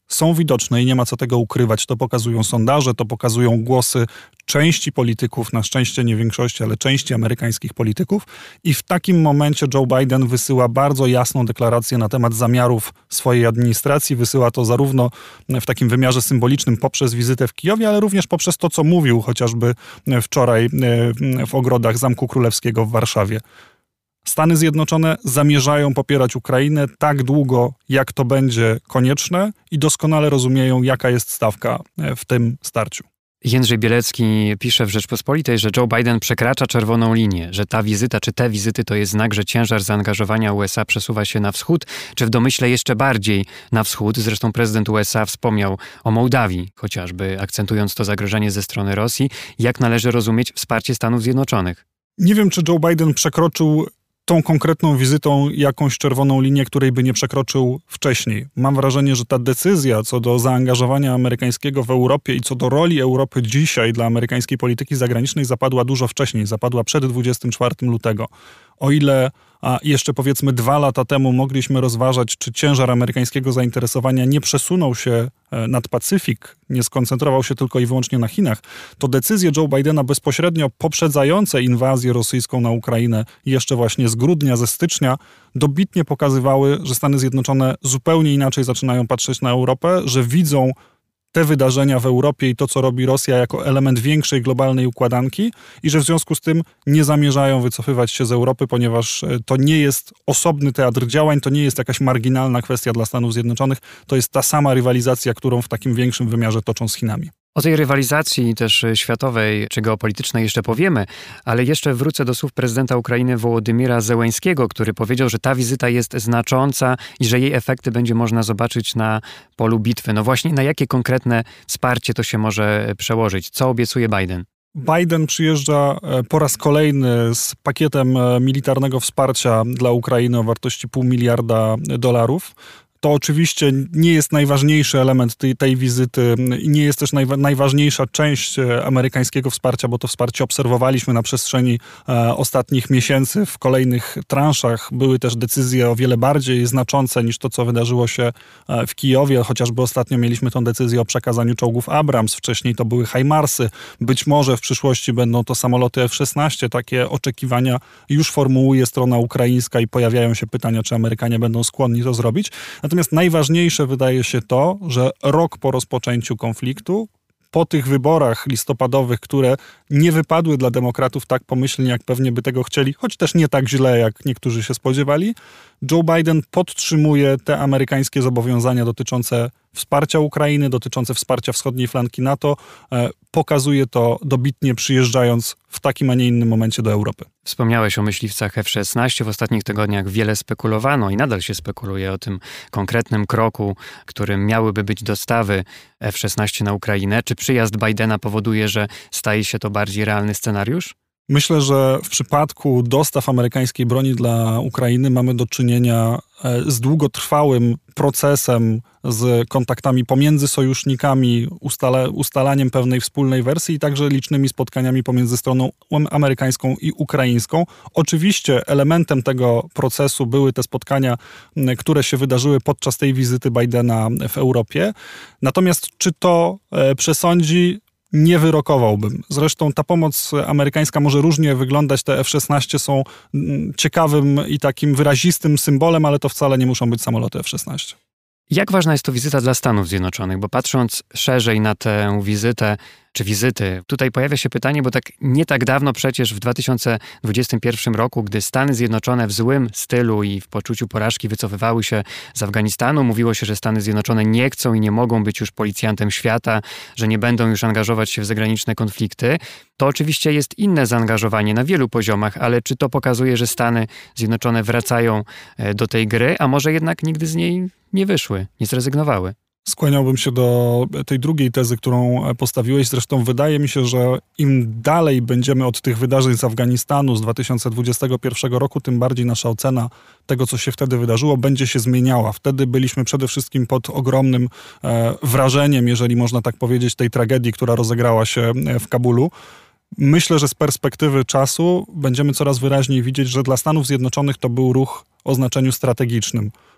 są widoczne i nie ma co tego ukrywać. To pokazują sondaże, to pokazują głosy części polityków, na szczęście nie większości, ale części amerykańskich polityków. I w takim momencie Joe Biden wysyła bardzo jasną deklarację na temat zamiarów swojej administracji. Wysyła to zarówno w takim wymiarze symbolicznym poprzez wizytę w Kijowie, ale również poprzez to, co mówił chociażby wczoraj w ogrodach Zamku Królewskiego w Warszawie. Stany Zjednoczone zamierzają popierać Ukrainę tak długo, jak to będzie konieczne i doskonale rozumieją, jaka jest stawka w tym starciu. Jędrzej Bielecki pisze w Rzeczpospolitej, że Joe Biden przekracza czerwoną linię, że ta wizyta czy te wizyty to jest znak, że ciężar zaangażowania U S A przesuwa się na wschód, czy w domyśle jeszcze bardziej na wschód. Zresztą prezydent U S A wspomniał o Mołdawii, chociażby akcentując to zagrożenie ze strony Rosji. Jak należy rozumieć wsparcie Stanów Zjednoczonych? Nie wiem, czy Joe Biden przekroczył tą konkretną wizytą jakąś czerwoną linię, której by nie przekroczył wcześniej. Mam wrażenie, że ta decyzja co do zaangażowania amerykańskiego w Europie i co do roli Europy dzisiaj dla amerykańskiej polityki zagranicznej zapadła dużo wcześniej, zapadła przed dwudziestego czwartego lutego. O ile a jeszcze powiedzmy dwa lata temu mogliśmy rozważać, czy ciężar amerykańskiego zainteresowania nie przesunął się nad Pacyfik, nie skoncentrował się tylko i wyłącznie na Chinach, to decyzje Joe Bidena bezpośrednio poprzedzające inwazję rosyjską na Ukrainę jeszcze właśnie z grudnia, ze stycznia, dobitnie pokazywały, że Stany Zjednoczone zupełnie inaczej zaczynają patrzeć na Europę, że widzą te wydarzenia w Europie i to, co robi Rosja, jako element większej globalnej układanki i że w związku z tym nie zamierzają wycofywać się z Europy, ponieważ to nie jest osobny teatr działań, to nie jest jakaś marginalna kwestia dla Stanów Zjednoczonych, to jest ta sama rywalizacja, którą w takim większym wymiarze toczą z Chinami. O tej rywalizacji też światowej czy geopolitycznej jeszcze powiemy, ale jeszcze wrócę do słów prezydenta Ukrainy Wołodymyra Zełenskiego, który powiedział, że ta wizyta jest znacząca i że jej efekty będzie można zobaczyć na polu bitwy. No właśnie, na jakie konkretne wsparcie to się może przełożyć? Co obiecuje Biden? Biden przyjeżdża po raz kolejny z pakietem militarnego wsparcia dla Ukrainy o wartości pół miliarda dolarów. To oczywiście nie jest najważniejszy element tej, tej wizyty i nie jest też najwa- najważniejsza część amerykańskiego wsparcia, bo to wsparcie obserwowaliśmy na przestrzeni e, ostatnich miesięcy. W kolejnych transzach były też decyzje o wiele bardziej znaczące niż to, co wydarzyło się e, w Kijowie. Chociażby ostatnio mieliśmy tę decyzję o przekazaniu czołgów Abrams. Wcześniej to były HIMARSy. Być może w przyszłości będą to samoloty F szesnaście. Takie oczekiwania już formułuje strona ukraińska i pojawiają się pytania, czy Amerykanie będą skłonni to zrobić. Natomiast najważniejsze wydaje się to, że rok po rozpoczęciu konfliktu, po tych wyborach listopadowych, które nie wypadły dla demokratów tak pomyślnie, jak pewnie by tego chcieli, choć też nie tak źle, jak niektórzy się spodziewali, Joe Biden podtrzymuje te amerykańskie zobowiązania dotyczące wsparcia Ukrainy, dotyczące wsparcia wschodniej flanki NATO. E, pokazuje to dobitnie, przyjeżdżając w takim, a nie innym momencie do Europy. Wspomniałeś o myśliwcach F szesnaście. W ostatnich tygodniach wiele spekulowano i nadal się spekuluje o tym konkretnym kroku, którym miałyby być dostawy F szesnaście na Ukrainę. Czy przyjazd Bidena powoduje, że staje się to bardziej realny scenariusz? Myślę, że w przypadku dostaw amerykańskiej broni dla Ukrainy mamy do czynienia z długotrwałym procesem, z kontaktami pomiędzy sojusznikami, ustale, ustalaniem pewnej wspólnej wersji i także licznymi spotkaniami pomiędzy stroną amerykańską i ukraińską. Oczywiście elementem tego procesu były te spotkania, które się wydarzyły podczas tej wizyty Bidena w Europie. Natomiast czy to przesądzi? Nie wyrokowałbym. Zresztą ta pomoc amerykańska może różnie wyglądać. Te F szesnaście są ciekawym i takim wyrazistym symbolem, ale to wcale nie muszą być samoloty F szesnaście. Jak ważna jest to wizyta dla Stanów Zjednoczonych? Bo patrząc szerzej na tę wizytę, czy wizyty, tutaj pojawia się pytanie, bo tak nie tak dawno przecież w dwa tysiące dwudziestym pierwszym roku, gdy Stany Zjednoczone w złym stylu i w poczuciu porażki wycofywały się z Afganistanu, mówiło się, że Stany Zjednoczone nie chcą i nie mogą być już policjantem świata, że nie będą już angażować się w zagraniczne konflikty. To oczywiście jest inne zaangażowanie na wielu poziomach, ale czy to pokazuje, że Stany Zjednoczone wracają do tej gry, a może jednak nigdy z niej nie wyszły, nie zrezygnowały? Skłaniałbym się do tej drugiej tezy, którą postawiłeś. Zresztą wydaje mi się, że im dalej będziemy od tych wydarzeń z Afganistanu z dwa tysiące dwudziestego pierwszego roku, tym bardziej nasza ocena tego, co się wtedy wydarzyło, będzie się zmieniała. Wtedy byliśmy przede wszystkim pod ogromnym e, wrażeniem, jeżeli można tak powiedzieć, tej tragedii, która rozegrała się w Kabulu. Myślę, że z perspektywy czasu będziemy coraz wyraźniej widzieć, że dla Stanów Zjednoczonych to był ruch o znaczeniu strategicznym.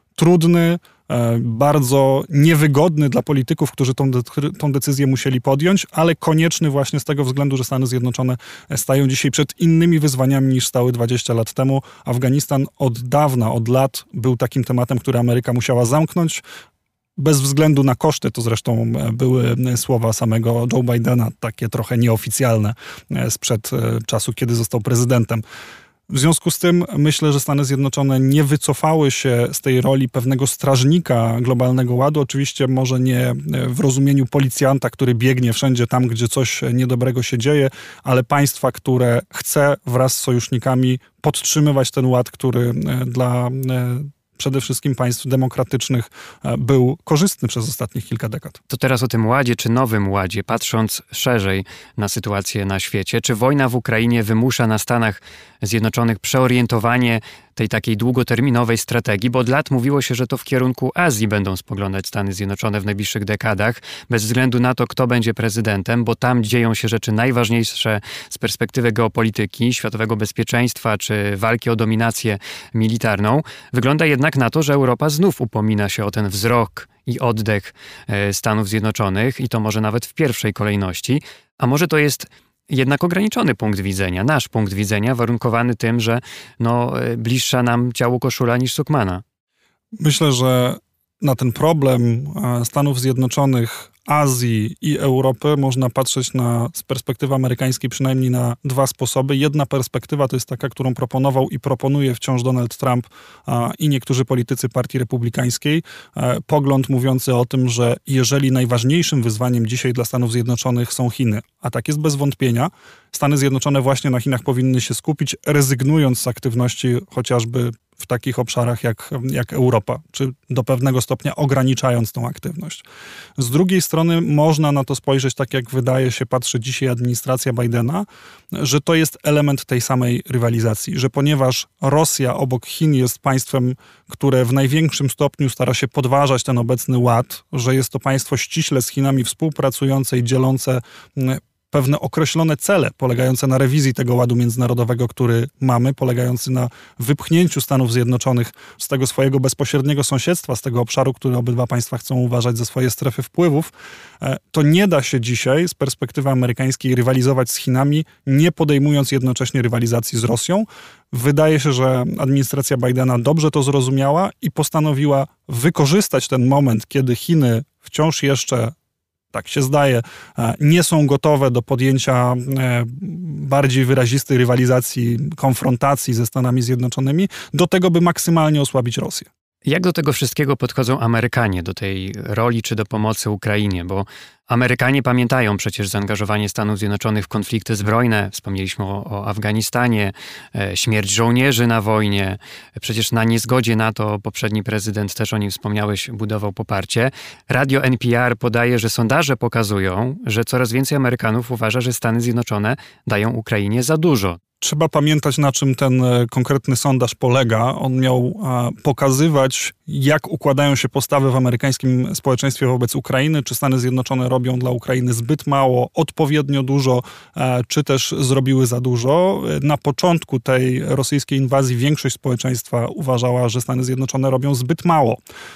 trudny, bardzo niewygodny dla polityków, którzy tą, de- tą decyzję musieli podjąć, ale konieczny właśnie z tego względu, że Stany Zjednoczone stają dzisiaj przed innymi wyzwaniami niż stały dwadzieścia lat temu. Afganistan od dawna, od lat był takim tematem, który Ameryka musiała zamknąć. Bez względu na koszty, to zresztą były słowa samego Joe Bidena, takie trochę nieoficjalne sprzed czasu, kiedy został prezydentem. W związku z tym myślę, że Stany Zjednoczone nie wycofały się z tej roli pewnego strażnika globalnego ładu. Oczywiście może nie w rozumieniu policjanta, który biegnie wszędzie tam, gdzie coś niedobrego się dzieje, ale państwa, które chce wraz z sojusznikami podtrzymywać ten ład, który dla przede wszystkim państw demokratycznych był korzystny przez ostatnich kilka dekad. To teraz o tym ładzie, czy nowym ładzie, patrząc szerzej na sytuację na świecie, czy wojna w Ukrainie wymusza na Stanach Zjednoczonych przeorientowanie tej takiej długoterminowej strategii, bo od lat mówiło się, że to w kierunku Azji będą spoglądać Stany Zjednoczone w najbliższych dekadach, bez względu na to, kto będzie prezydentem, bo tam dzieją się rzeczy najważniejsze z perspektywy geopolityki, światowego bezpieczeństwa, czy walki o dominację militarną. Wygląda jednak na to, że Europa znów upomina się o ten wzrok i oddech Stanów Zjednoczonych i to może nawet w pierwszej kolejności, a może to jest jednak ograniczony punkt widzenia, nasz punkt widzenia, warunkowany tym, że no, bliższa nam ciału koszula niż sukmana. Myślę, że na ten problem Stanów Zjednoczonych, Azji i Europy można patrzeć na, z perspektywy amerykańskiej przynajmniej na dwa sposoby. Jedna perspektywa to jest taka, którą proponował i proponuje wciąż Donald Trump a, i niektórzy politycy Partii Republikańskiej. A, pogląd mówiący o tym, że jeżeli najważniejszym wyzwaniem dzisiaj dla Stanów Zjednoczonych są Chiny, a tak jest bez wątpienia, Stany Zjednoczone właśnie na Chinach powinny się skupić, rezygnując z aktywności chociażby w takich obszarach jak, jak Europa, czy do pewnego stopnia ograniczając tą aktywność. Z drugiej strony można na to spojrzeć tak, jak wydaje się, patrzy dzisiaj administracja Bidena, że to jest element tej samej rywalizacji, że ponieważ Rosja obok Chin jest państwem, które w największym stopniu stara się podważać ten obecny ład, że jest to państwo ściśle z Chinami współpracujące i dzielące pewne określone cele polegające na rewizji tego ładu międzynarodowego, który mamy, polegający na wypchnięciu Stanów Zjednoczonych z tego swojego bezpośredniego sąsiedztwa, z tego obszaru, który obydwa państwa chcą uważać za swoje strefy wpływów, to nie da się dzisiaj z perspektywy amerykańskiej rywalizować z Chinami, nie podejmując jednocześnie rywalizacji z Rosją. Wydaje się, że administracja Bidena dobrze to zrozumiała i postanowiła wykorzystać ten moment, kiedy Chiny wciąż jeszcze, tak się zdaje, nie są gotowe do podjęcia bardziej wyrazistej rywalizacji, konfrontacji ze Stanami Zjednoczonymi, do tego, by maksymalnie osłabić Rosję. Jak do tego wszystkiego podchodzą Amerykanie, do tej roli czy do pomocy Ukrainie? Bo Amerykanie pamiętają przecież zaangażowanie Stanów Zjednoczonych w konflikty zbrojne. Wspomnieliśmy o, o Afganistanie, e, śmierć żołnierzy na wojnie. Przecież na niezgodzie na to poprzedni prezydent, też o nim wspomniałeś, budował poparcie. Radio N P R podaje, że sondaże pokazują, że coraz więcej Amerykanów uważa, że Stany Zjednoczone dają Ukrainie za dużo. Trzeba pamiętać, na czym ten konkretny sondaż polega. On miał pokazywać, jak układają się postawy w amerykańskim społeczeństwie wobec Ukrainy, czy Stany Zjednoczone robią dla Ukrainy zbyt mało, odpowiednio dużo, czy też zrobiły za dużo. Na początku tej rosyjskiej inwazji większość społeczeństwa uważała, że Stany Zjednoczone robią zbyt mało.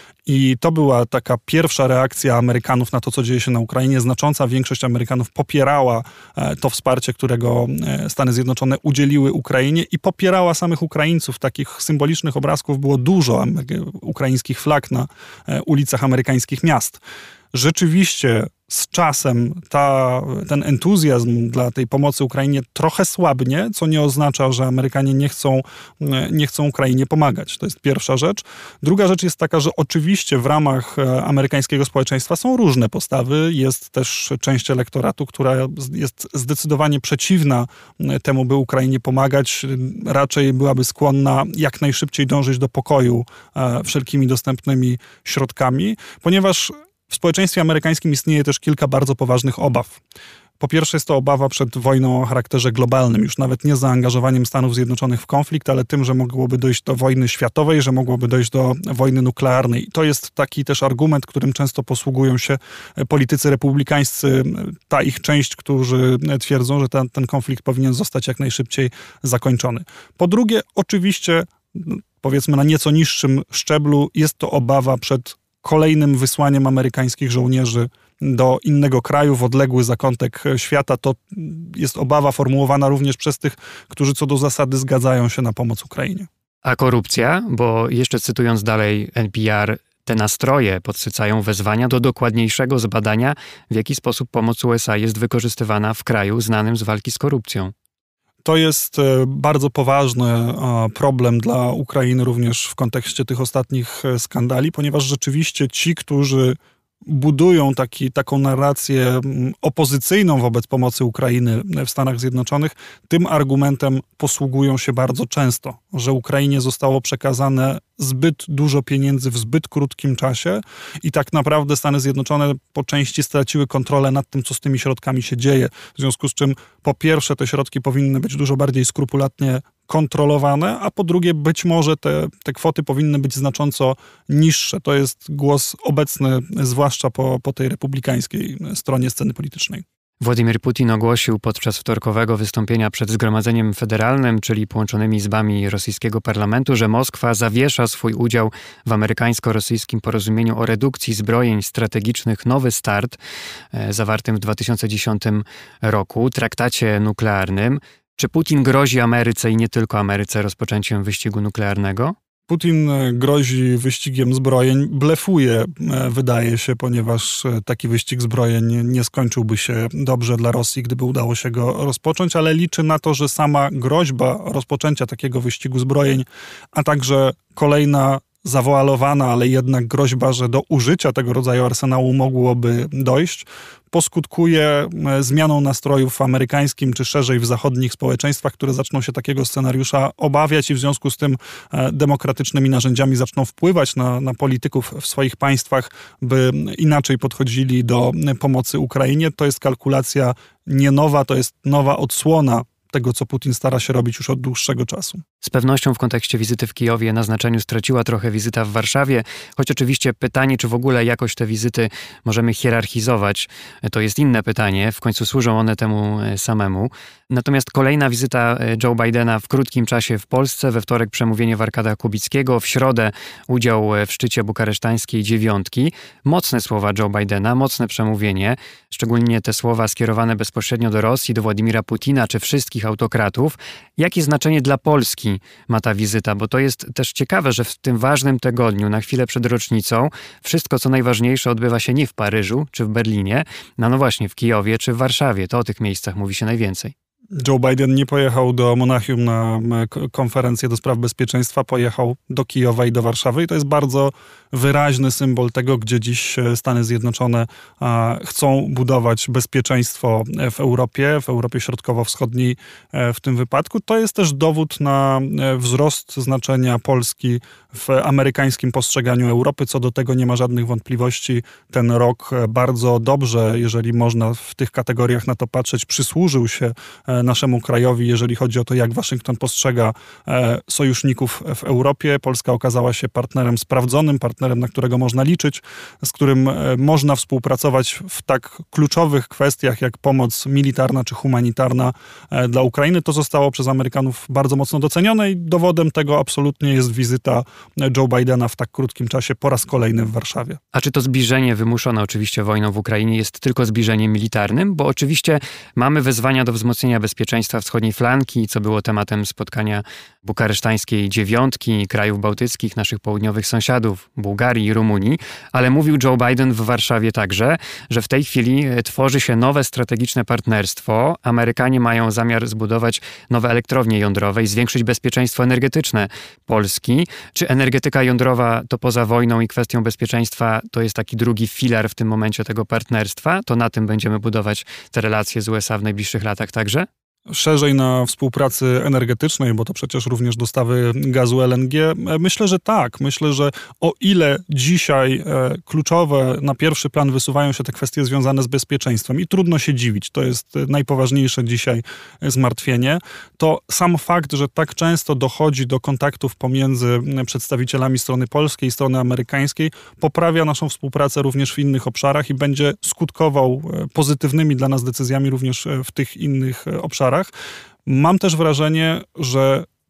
I to była taka pierwsza reakcja Amerykanów na to, co dzieje się na Ukrainie. Znacząca większość Amerykanów popierała to wsparcie, którego Stany Zjednoczone udzieliły Ukrainie i popierała samych Ukraińców. Takich symbolicznych obrazków było dużo ukraińskich flag na ulicach amerykańskich miast. Rzeczywiście z czasem ta, ten entuzjazm dla tej pomocy Ukrainie trochę słabnie, co nie oznacza, że Amerykanie nie chcą, nie chcą Ukrainie pomagać. To jest pierwsza rzecz. Druga rzecz jest taka, że oczywiście w ramach amerykańskiego społeczeństwa są różne postawy. Jest też część elektoratu, która jest zdecydowanie przeciwna temu, by Ukrainie pomagać. Raczej byłaby skłonna jak najszybciej dążyć do pokoju wszelkimi dostępnymi środkami, ponieważ w społeczeństwie amerykańskim istnieje też kilka bardzo poważnych obaw. Po pierwsze jest to obawa przed wojną o charakterze globalnym, już nawet nie zaangażowaniem Stanów Zjednoczonych w konflikt, ale tym, że mogłoby dojść do wojny światowej, że mogłoby dojść do wojny nuklearnej. I to jest taki też argument, którym często posługują się politycy republikańscy, ta ich część, którzy twierdzą, że ten, ten konflikt powinien zostać jak najszybciej zakończony. Po drugie, oczywiście powiedzmy na nieco niższym szczeblu, jest to obawa przed kolejnym wysłaniem amerykańskich żołnierzy do innego kraju, w odległy zakątek świata. To jest obawa formułowana również przez tych, którzy co do zasady zgadzają się na pomoc Ukrainie. A korupcja, bo jeszcze cytując dalej N P R, te nastroje podsycają wezwania do dokładniejszego zbadania, w jaki sposób pomoc U S A jest wykorzystywana w kraju znanym z walki z korupcją. To jest bardzo poważny problem dla Ukrainy również w kontekście tych ostatnich skandali, ponieważ rzeczywiście ci, którzy budują taki, taką narrację opozycyjną wobec pomocy Ukrainy w Stanach Zjednoczonych, tym argumentem posługują się bardzo często, że Ukrainie zostało przekazane zbyt dużo pieniędzy w zbyt krótkim czasie i tak naprawdę Stany Zjednoczone po części straciły kontrolę nad tym, co z tymi środkami się dzieje. W związku z czym po pierwsze te środki powinny być dużo bardziej skrupulatnie kontrolowane, a po drugie być może te, te kwoty powinny być znacząco niższe. To jest głos obecny, zwłaszcza po, po tej republikańskiej stronie sceny politycznej. Władimir Putin ogłosił podczas wtorkowego wystąpienia przed Zgromadzeniem Federalnym, czyli połączonymi izbami rosyjskiego parlamentu, że Moskwa zawiesza swój udział w amerykańsko-rosyjskim porozumieniu o redukcji zbrojeń strategicznych Nowy Start, e, zawartym w dwa tysiące dziesiątym roku, traktacie nuklearnym. Czy Putin grozi Ameryce i nie tylko Ameryce rozpoczęciem wyścigu nuklearnego? Putin grozi wyścigiem zbrojeń, blefuje, wydaje się, ponieważ taki wyścig zbrojeń nie skończyłby się dobrze dla Rosji, gdyby udało się go rozpocząć, ale liczy na to, że sama groźba rozpoczęcia takiego wyścigu zbrojeń, a także kolejna zawoalowana, ale jednak groźba, że do użycia tego rodzaju arsenału mogłoby dojść, poskutkuje zmianą nastrojów w amerykańskim, czy szerzej w zachodnich społeczeństwach, które zaczną się takiego scenariusza obawiać i w związku z tym demokratycznymi narzędziami zaczną wpływać na, na polityków w swoich państwach, by inaczej podchodzili do pomocy Ukrainie. To jest kalkulacja nie nowa, to jest nowa odsłona tego, co Putin stara się robić już od dłuższego czasu. Z pewnością w kontekście wizyty w Kijowie na znaczeniu straciła trochę wizyta w Warszawie, choć oczywiście pytanie, czy w ogóle jakoś te wizyty możemy hierarchizować, to jest inne pytanie, w końcu służą one temu samemu. Natomiast kolejna wizyta Joe Bidena w krótkim czasie w Polsce, we wtorek przemówienie w Arkadach Kubickiego, w środę udział w szczycie bukaresztańskiej dziewiątki. Mocne słowa Joe Bidena, mocne przemówienie, szczególnie te słowa skierowane bezpośrednio do Rosji, do Władimira Putina, czy wszystkich autokratów. Jakie znaczenie dla Polski ma ta wizyta? Bo to jest też ciekawe, że w tym ważnym tygodniu, na chwilę przed rocznicą, wszystko co najważniejsze odbywa się nie w Paryżu czy w Berlinie, no, no właśnie w Kijowie czy w Warszawie. To o tych miejscach mówi się najwięcej. Joe Biden nie pojechał do Monachium na konferencję do spraw bezpieczeństwa, pojechał do Kijowa i do Warszawy i to jest bardzo wyraźny symbol tego, gdzie dziś Stany Zjednoczone chcą budować bezpieczeństwo w Europie, w Europie Środkowo-Wschodniej w tym wypadku. To jest też dowód na wzrost znaczenia Polski w amerykańskim postrzeganiu Europy. Co do tego nie ma żadnych wątpliwości. Ten rok bardzo dobrze, jeżeli można w tych kategoriach na to patrzeć, przysłużył się naszemu krajowi, jeżeli chodzi o to, jak Waszyngton postrzega sojuszników w Europie. Polska okazała się partnerem sprawdzonym, partnerem, na którego można liczyć, z którym można współpracować w tak kluczowych kwestiach, jak pomoc militarna czy humanitarna dla Ukrainy. To zostało przez Amerykanów bardzo mocno docenione i dowodem tego absolutnie jest wizyta Joe Bidena w tak krótkim czasie po raz kolejny w Warszawie. A czy to zbliżenie wymuszone oczywiście wojną w Ukrainie jest tylko zbliżeniem militarnym? Bo oczywiście mamy wezwania do wzmocnienia bezpieczeństwa wschodniej flanki, co było tematem spotkania bukaresztańskiej dziewiątki, krajów bałtyckich, naszych południowych sąsiadów, Bułgarii i Rumunii, ale mówił Joe Biden w Warszawie także, że w tej chwili tworzy się nowe strategiczne partnerstwo. Amerykanie mają zamiar zbudować nowe elektrownie jądrowe i zwiększyć bezpieczeństwo energetyczne Polski. Czy energetyka jądrowa to poza wojną i kwestią bezpieczeństwa to jest taki drugi filar w tym momencie tego partnerstwa? To na tym będziemy budować te relacje z U S A w najbliższych latach także? Szerzej na współpracy energetycznej, bo to przecież również dostawy gazu L N G. Myślę, że tak. Myślę, że o ile dzisiaj e, kluczowe na pierwszy plan wysuwają się te kwestie związane z bezpieczeństwem i trudno się dziwić, to jest najpoważniejsze dzisiaj zmartwienie, to sam fakt, że tak często dochodzi do kontaktów pomiędzy przedstawicielami strony polskiej i strony amerykańskiej, poprawia naszą współpracę również w innych obszarach i będzie skutkował pozytywnymi dla nas decyzjami również w tych innych obszarach. Mam też wrażenie, że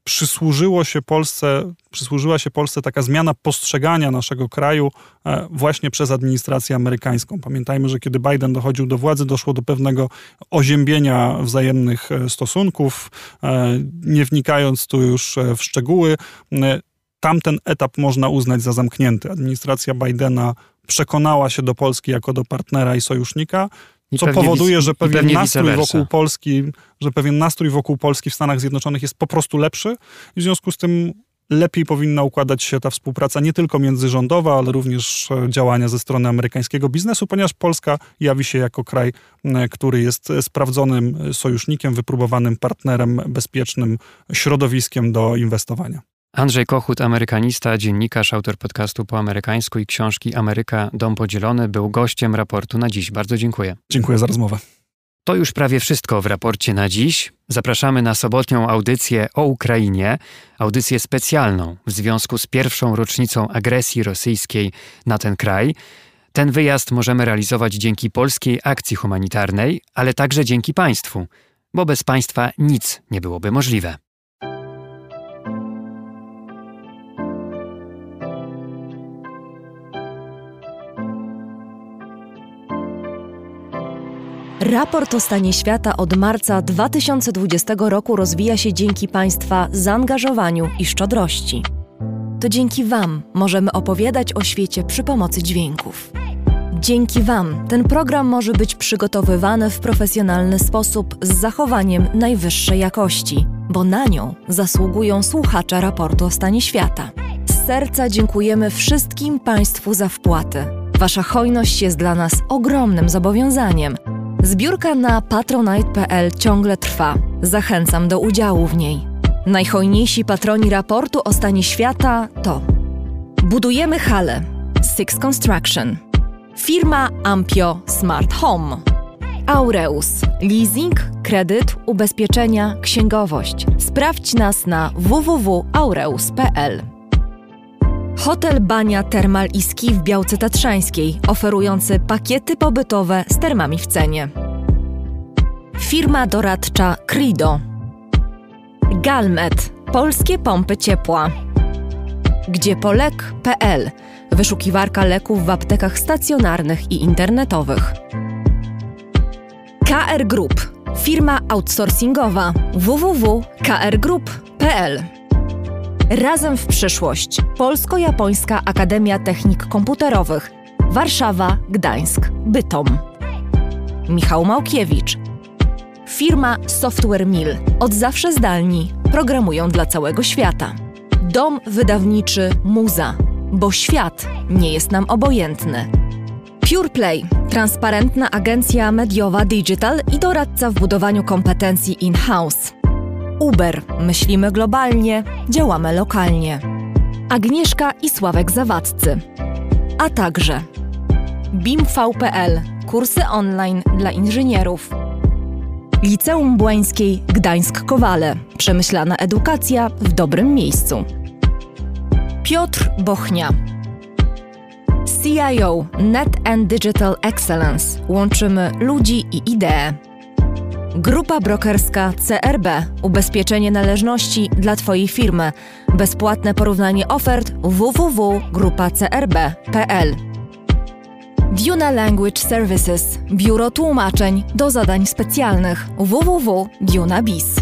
przysłużyło się Polsce, przysłużyła się Polsce taka zmiana postrzegania naszego kraju właśnie przez administrację amerykańską. Pamiętajmy, że kiedy Biden dochodził do władzy, doszło do pewnego oziębienia wzajemnych stosunków. Nie wnikając tu już w szczegóły, tamten etap można uznać za zamknięty. Administracja Bidena przekonała się do Polski jako do partnera i sojusznika, co powoduje, że pewien nastrój wokół Polski, że pewien nastrój wokół Polski w Stanach Zjednoczonych jest po prostu lepszy i w związku z tym lepiej powinna układać się ta współpraca nie tylko międzyrządowa, ale również działania ze strony amerykańskiego biznesu, ponieważ Polska jawi się jako kraj, który jest sprawdzonym sojusznikiem, wypróbowanym partnerem, bezpiecznym środowiskiem do inwestowania. Andrzej Kochut, amerykanista, dziennikarz, autor podcastu Po amerykańsku i książki Ameryka, Dom Podzielony, był gościem raportu na dziś. Bardzo dziękuję. Dziękuję za rozmowę. To już prawie wszystko w raporcie na dziś. Zapraszamy na sobotnią audycję o Ukrainie, audycję specjalną w związku z pierwszą rocznicą agresji rosyjskiej na ten kraj. Ten wyjazd możemy realizować dzięki polskiej akcji humanitarnej, ale także dzięki państwu, bo bez państwa nic nie byłoby możliwe. Raport o stanie świata od marca dwa tysiące dwudziestego roku rozwija się dzięki Państwa zaangażowaniu i szczodrości. To dzięki Wam możemy opowiadać o świecie przy pomocy dźwięków. Dzięki Wam ten program może być przygotowywany w profesjonalny sposób z zachowaniem najwyższej jakości, bo na nią zasługują słuchacze raportu o stanie świata. Z serca dziękujemy wszystkim Państwu za wpłaty. Wasza hojność jest dla nas ogromnym zobowiązaniem. Zbiórka na patronite kropka p l ciągle trwa. Zachęcam do udziału w niej. Najhojniejsi patroni raportu o stanie świata to Budujemy halę, Six Construction, firma Ampio Smart Home, Aureus, leasing, kredyt, ubezpieczenia, księgowość. Sprawdź nas na w w w kropka aureus kropka p l. Hotel Bania Termal i Ski w Białce Tatrzańskiej, oferujący pakiety pobytowe z termami w cenie. Firma doradcza Crido. Galmet, polskie pompy ciepła. Gdziepolek kropka p l, wyszukiwarka leków w aptekach stacjonarnych i internetowych. K R Group, firma outsourcingowa, w w w kropka k r group kropka p l. Razem w przyszłość. Polsko-Japońska Akademia Technik Komputerowych. Warszawa, Gdańsk, Bytom. Michał Małkiewicz. Firma Software Mill. Od zawsze zdalni. Programują dla całego świata. Dom wydawniczy Muza. Bo świat nie jest nam obojętny. PurePlay. Transparentna agencja mediowa digital i doradca w budowaniu kompetencji in-house. Uber. Myślimy globalnie, działamy lokalnie. Agnieszka i Sławek Zawadzcy. A także bimv kropka p l. Kursy online dla inżynierów. Liceum Błańskiej Gdańsk-Kowale. Przemyślana edukacja w dobrym miejscu. Piotr Bochnia. C I O Net and Digital Excellence. Łączymy ludzi i idee. Grupa brokerska C R B. Ubezpieczenie należności dla Twojej firmy. Bezpłatne porównanie ofert w w w kropka grupa c r b kropka p l. Duna Language Services. Biuro tłumaczeń do zadań specjalnych. w w w kropka duna biz.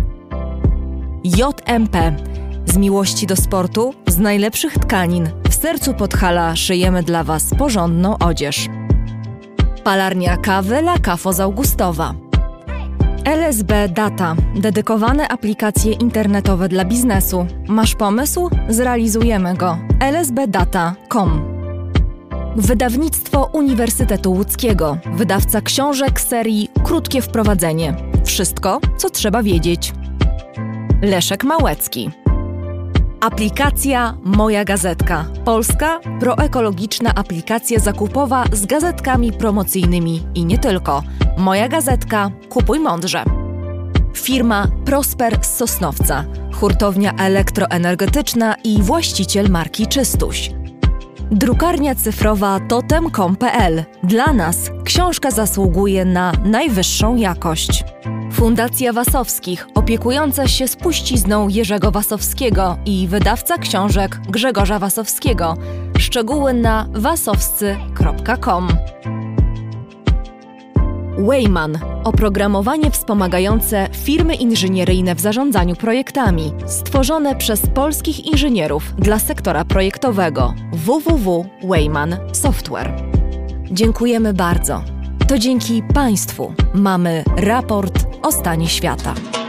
J M P. Z miłości do sportu, z najlepszych tkanin. W sercu Podhala szyjemy dla Was porządną odzież. Palarnia kawy La Cafo z Augustowa. L S B Data. Dedykowane aplikacje internetowe dla biznesu. Masz pomysł? Zrealizujemy go. l s b data kropka com. Wydawnictwo Uniwersytetu Łódzkiego. Wydawca książek serii Krótkie wprowadzenie. Wszystko, co trzeba wiedzieć. Leszek Małecki. Aplikacja Moja Gazetka. Polska proekologiczna aplikacja zakupowa z gazetkami promocyjnymi i nie tylko. Moja Gazetka. Kupuj mądrze. Firma Prosper z Sosnowca. Hurtownia elektroenergetyczna i właściciel marki Czystuś. Drukarnia cyfrowa totem kropka com kropka p l. Dla nas książka zasługuje na najwyższą jakość. Fundacja Wasowskich, opiekująca się spuścizną Jerzego Wasowskiego i wydawca książek Grzegorza Wasowskiego. Szczegóły na wasowscy kropka com. Wayman. Oprogramowanie wspomagające firmy inżynieryjne w zarządzaniu projektami. Stworzone przez polskich inżynierów dla sektora projektowego. w w w kropka wayman software. Dziękujemy bardzo. To dzięki Państwu mamy raport o stanie świata.